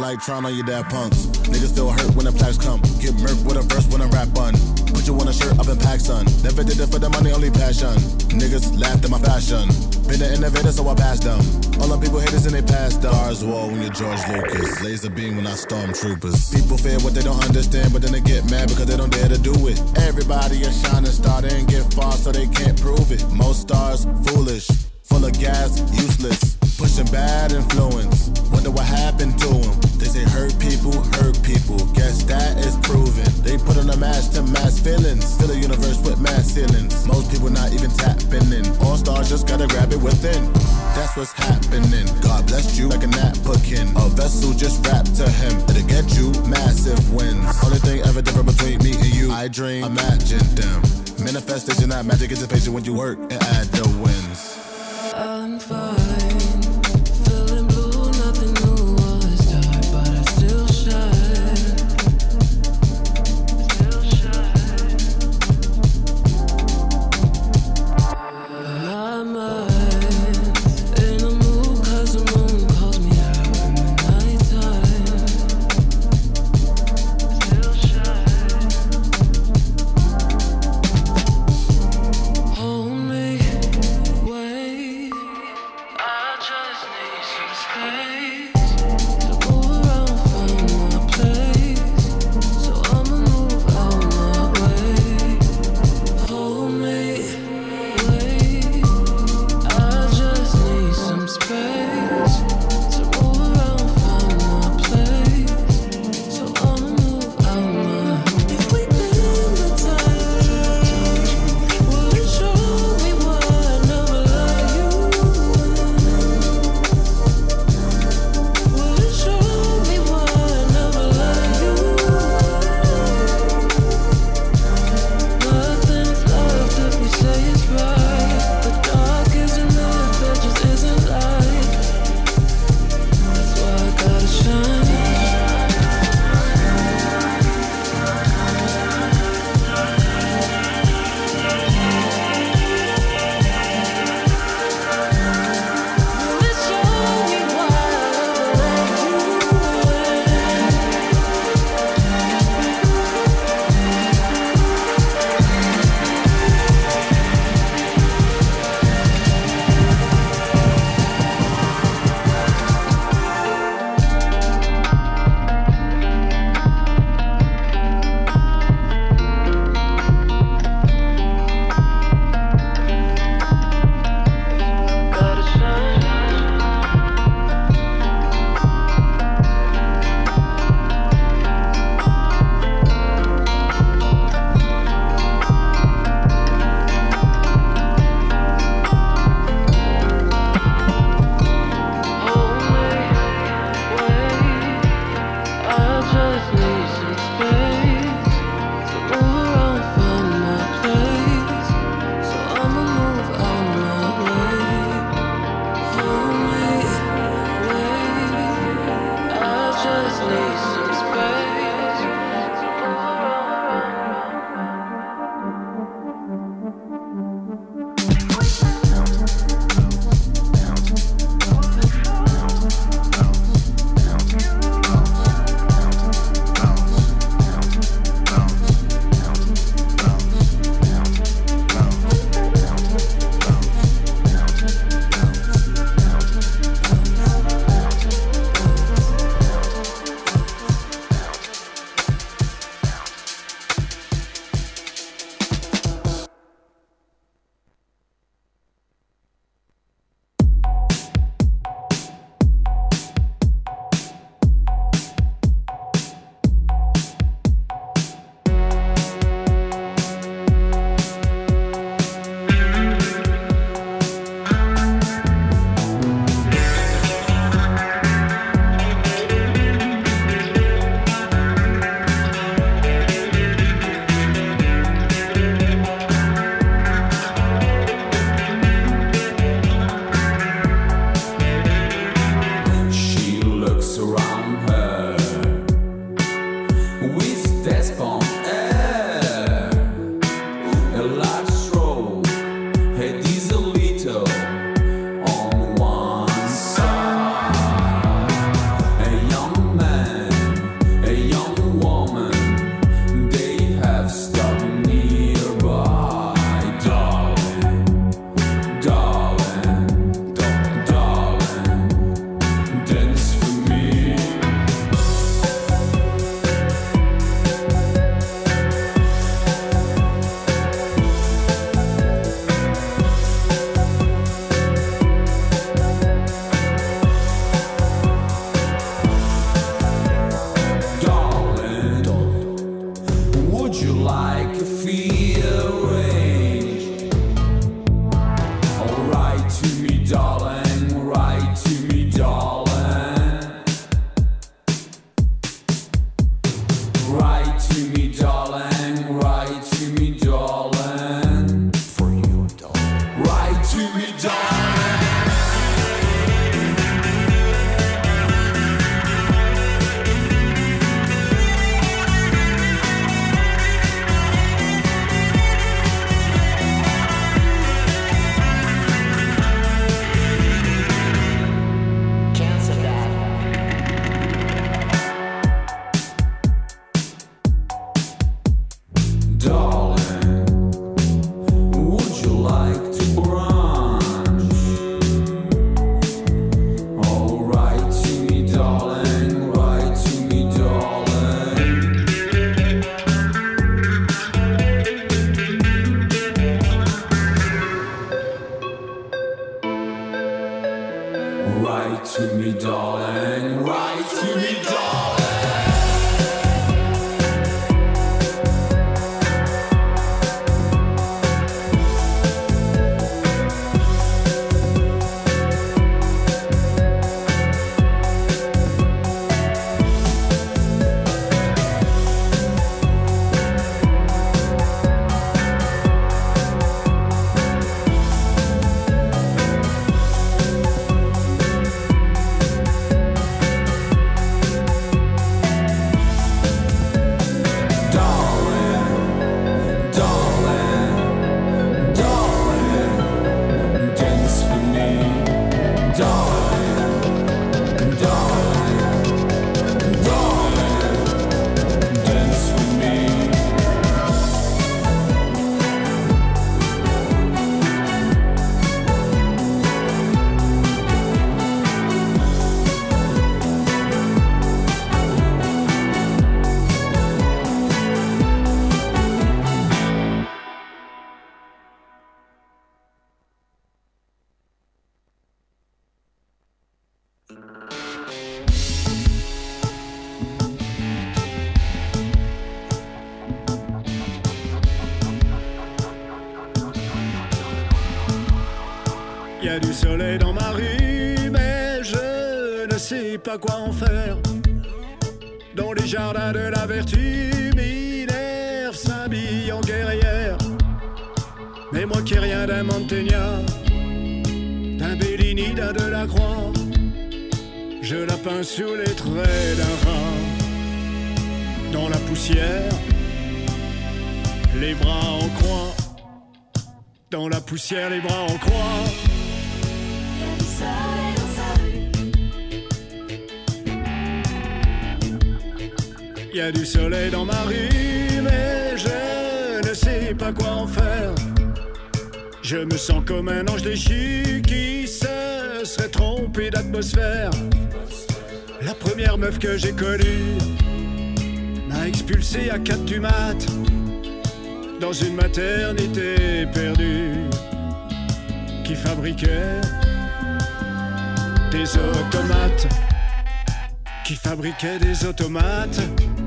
like Tron on your dad punks. Niggas feel hurt when the plaques come. Get murked with a verse when I rap bun. Put you on a shirt up in pack, son. Never did it for the money, only passion. Niggas laughed at my fashion. Been an innovator, so I passed them. All them people haters and they passed them. Stars wall when you're George Lucas. Laser beam when I stormtroopers. People fear what they don't understand, but then they get mad because they don't dare to do it. Everybody a shining star, they ain't get far, so they can't prove it. Most stars foolish, full of gas, useless. Pushing bad influence. Wonder what happened to them. They say hurt people. Guess that is proven. They put on a mask to mask feelings. Still a universe with mass ceilings. Most people not even tapping in. All stars just gotta grab it within. That's what's happening. God bless you like a napkin. A vessel just wrapped to him. It'll get you massive wins. Only thing ever different between me and you. I dream, imagine them. Manifestation, not magic, it's a patient when you work and add the wins. I'm fine. Feeling blue, nothing new. All is dark, but I still shine. Still shine. My mind's in a mood 'cause the moon calls me out in the nighttime. Still shine. Hold me, wait. you like a feeder range? Oh, write to me, darling, write to me, darling. Write to me, darling, write to me, darling. For you, darling. Write to me, darling. Write to me, darling, write to me, darling. Y a du soleil dans ma rue, mais je ne sais pas quoi en faire. Dans les jardins de la vertu, Minerve s'habille en guerrière. Mais moi qui ai rien d'un Mantegna, d'un Bellini, d'un Delacroix, je la peins sous les traits d'un rat. Dans la poussière, les bras en croix. Dans la poussière, les bras en croix. Y a du soleil dans ma rue, mais je ne sais pas quoi en faire. Je me sens comme un ange déchu qui se serait trompé d'atmosphère. La première meuf que j'ai connue m'a expulsé à 4 du mat' dans une maternité perdue qui fabriquait des automates. Qui fabriquait des automates.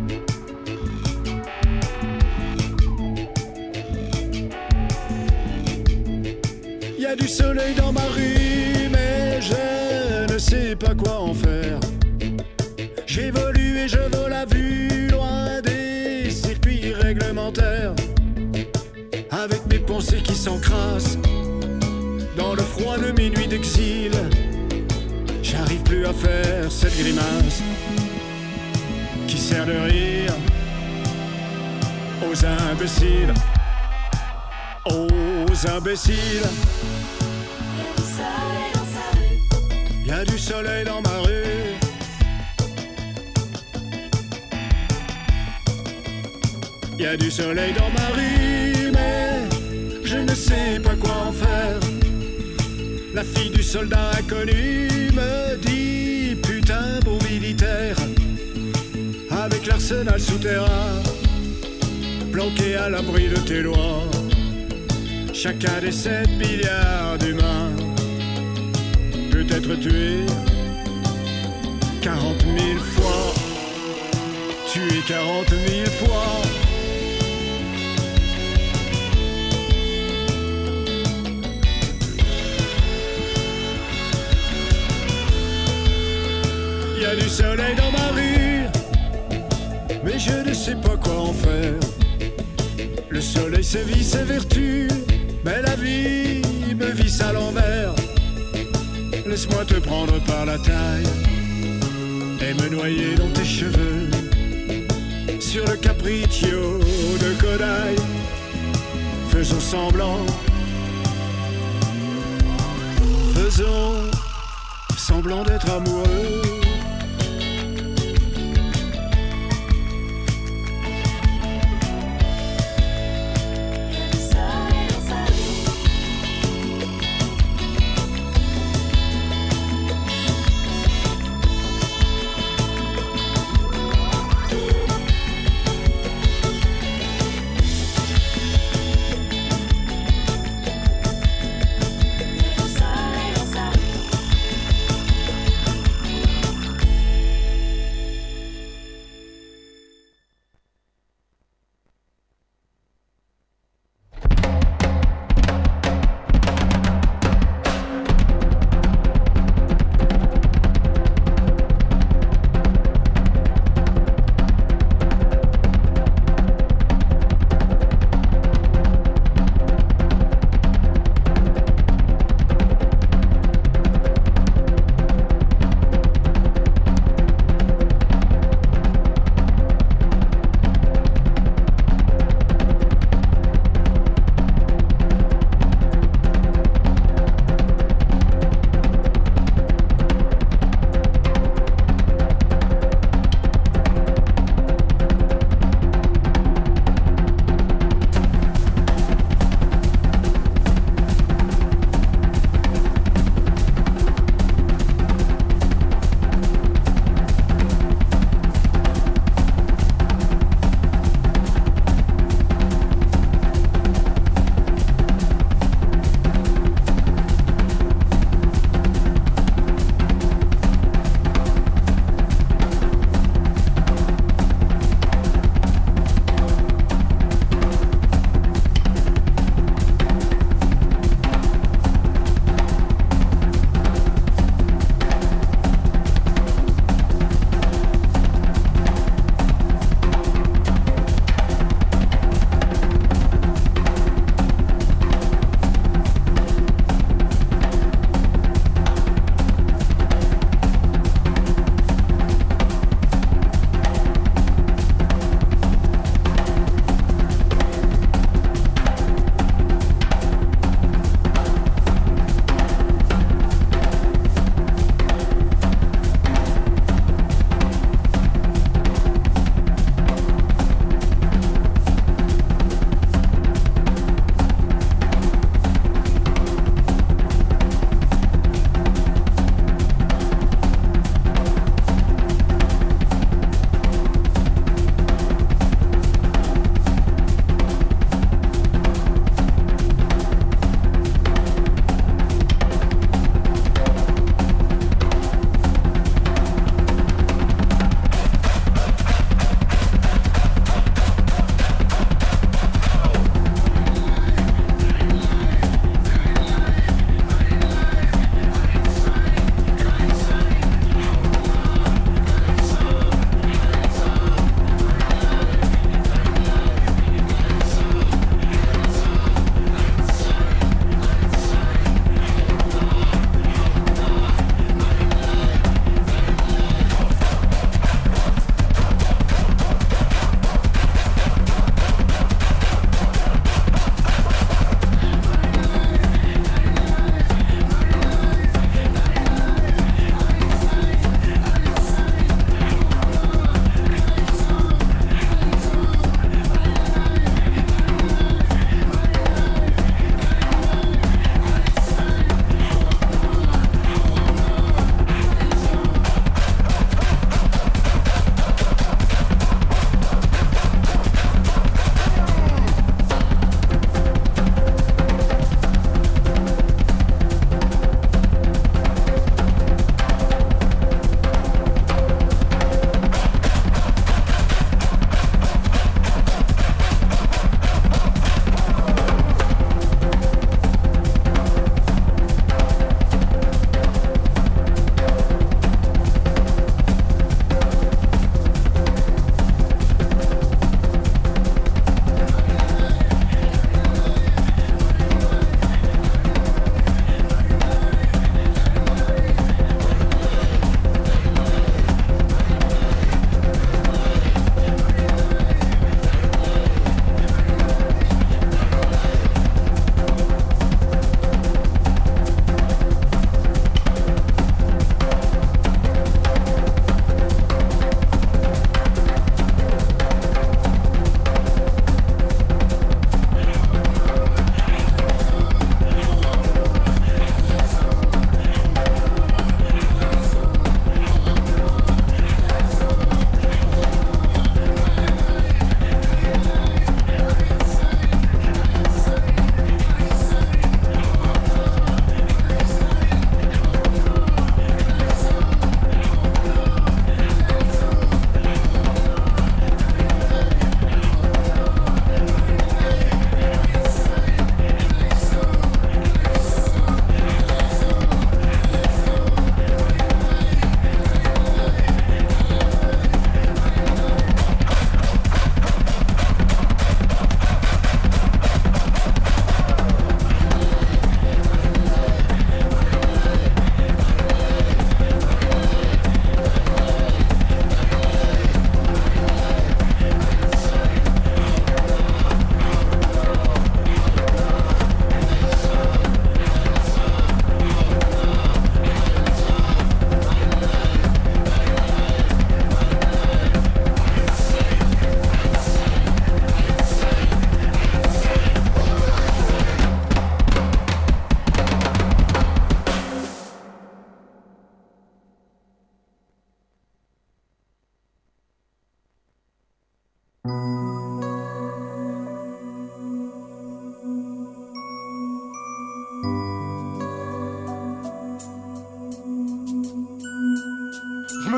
Y a du soleil dans ma rue, mais je ne sais pas quoi en faire. J'évolue et je vole à vue, loin des circuits réglementaires. Avec mes pensées qui s'encrassent dans le froid de mes nuits d'exil. J'arrive plus à faire cette grimace qui sert de rire aux imbéciles. Aux imbéciles. Y a du soleil dans ma rue. Y a du soleil dans ma rue, mais je ne sais pas quoi en faire. La fille du soldat inconnu me dit putain beau militaire. Avec l'arsenal souterrain planqué à l'abri de tes lois. Chacun des 7 milliards d'humains peut être tué 40 000 fois. Tué 40 000 fois. et je ne sais pas quoi en faire. Le soleil sévit ses vertus, mais la vie me visse à l'envers. Laisse-moi te prendre par la taille et me noyer dans tes cheveux, sur le capriccio de Kodai. Faisons semblant d'être amoureux.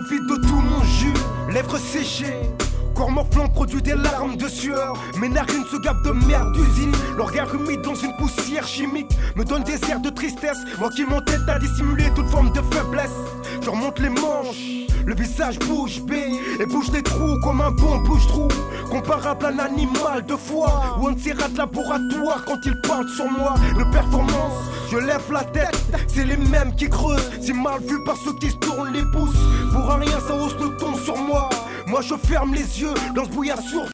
vide de tout mon jus, lèvres séchées. Corps morflant produit des larmes de sueur. Mes narines se gavent de merde d'usine. Le regard humide dans une poussière chimique me donne des airs de tristesse. Moi qui m'entête à dissimuler toute forme de faiblesse. Je remonte les manches, le visage bouge bée et bouge les trous comme un bon bouche-trou. Comparable à un animal de foie ou un de ces rats de laboratoire quand ils parlent sur moi. De performance, je lève la tête, c'est les mêmes qui creusent. C'est mal vu par ceux qui se tournent les pouces. Pour un rien ça hausse le ton sur moi. Moi je ferme les yeux dans ce brouillard sourd.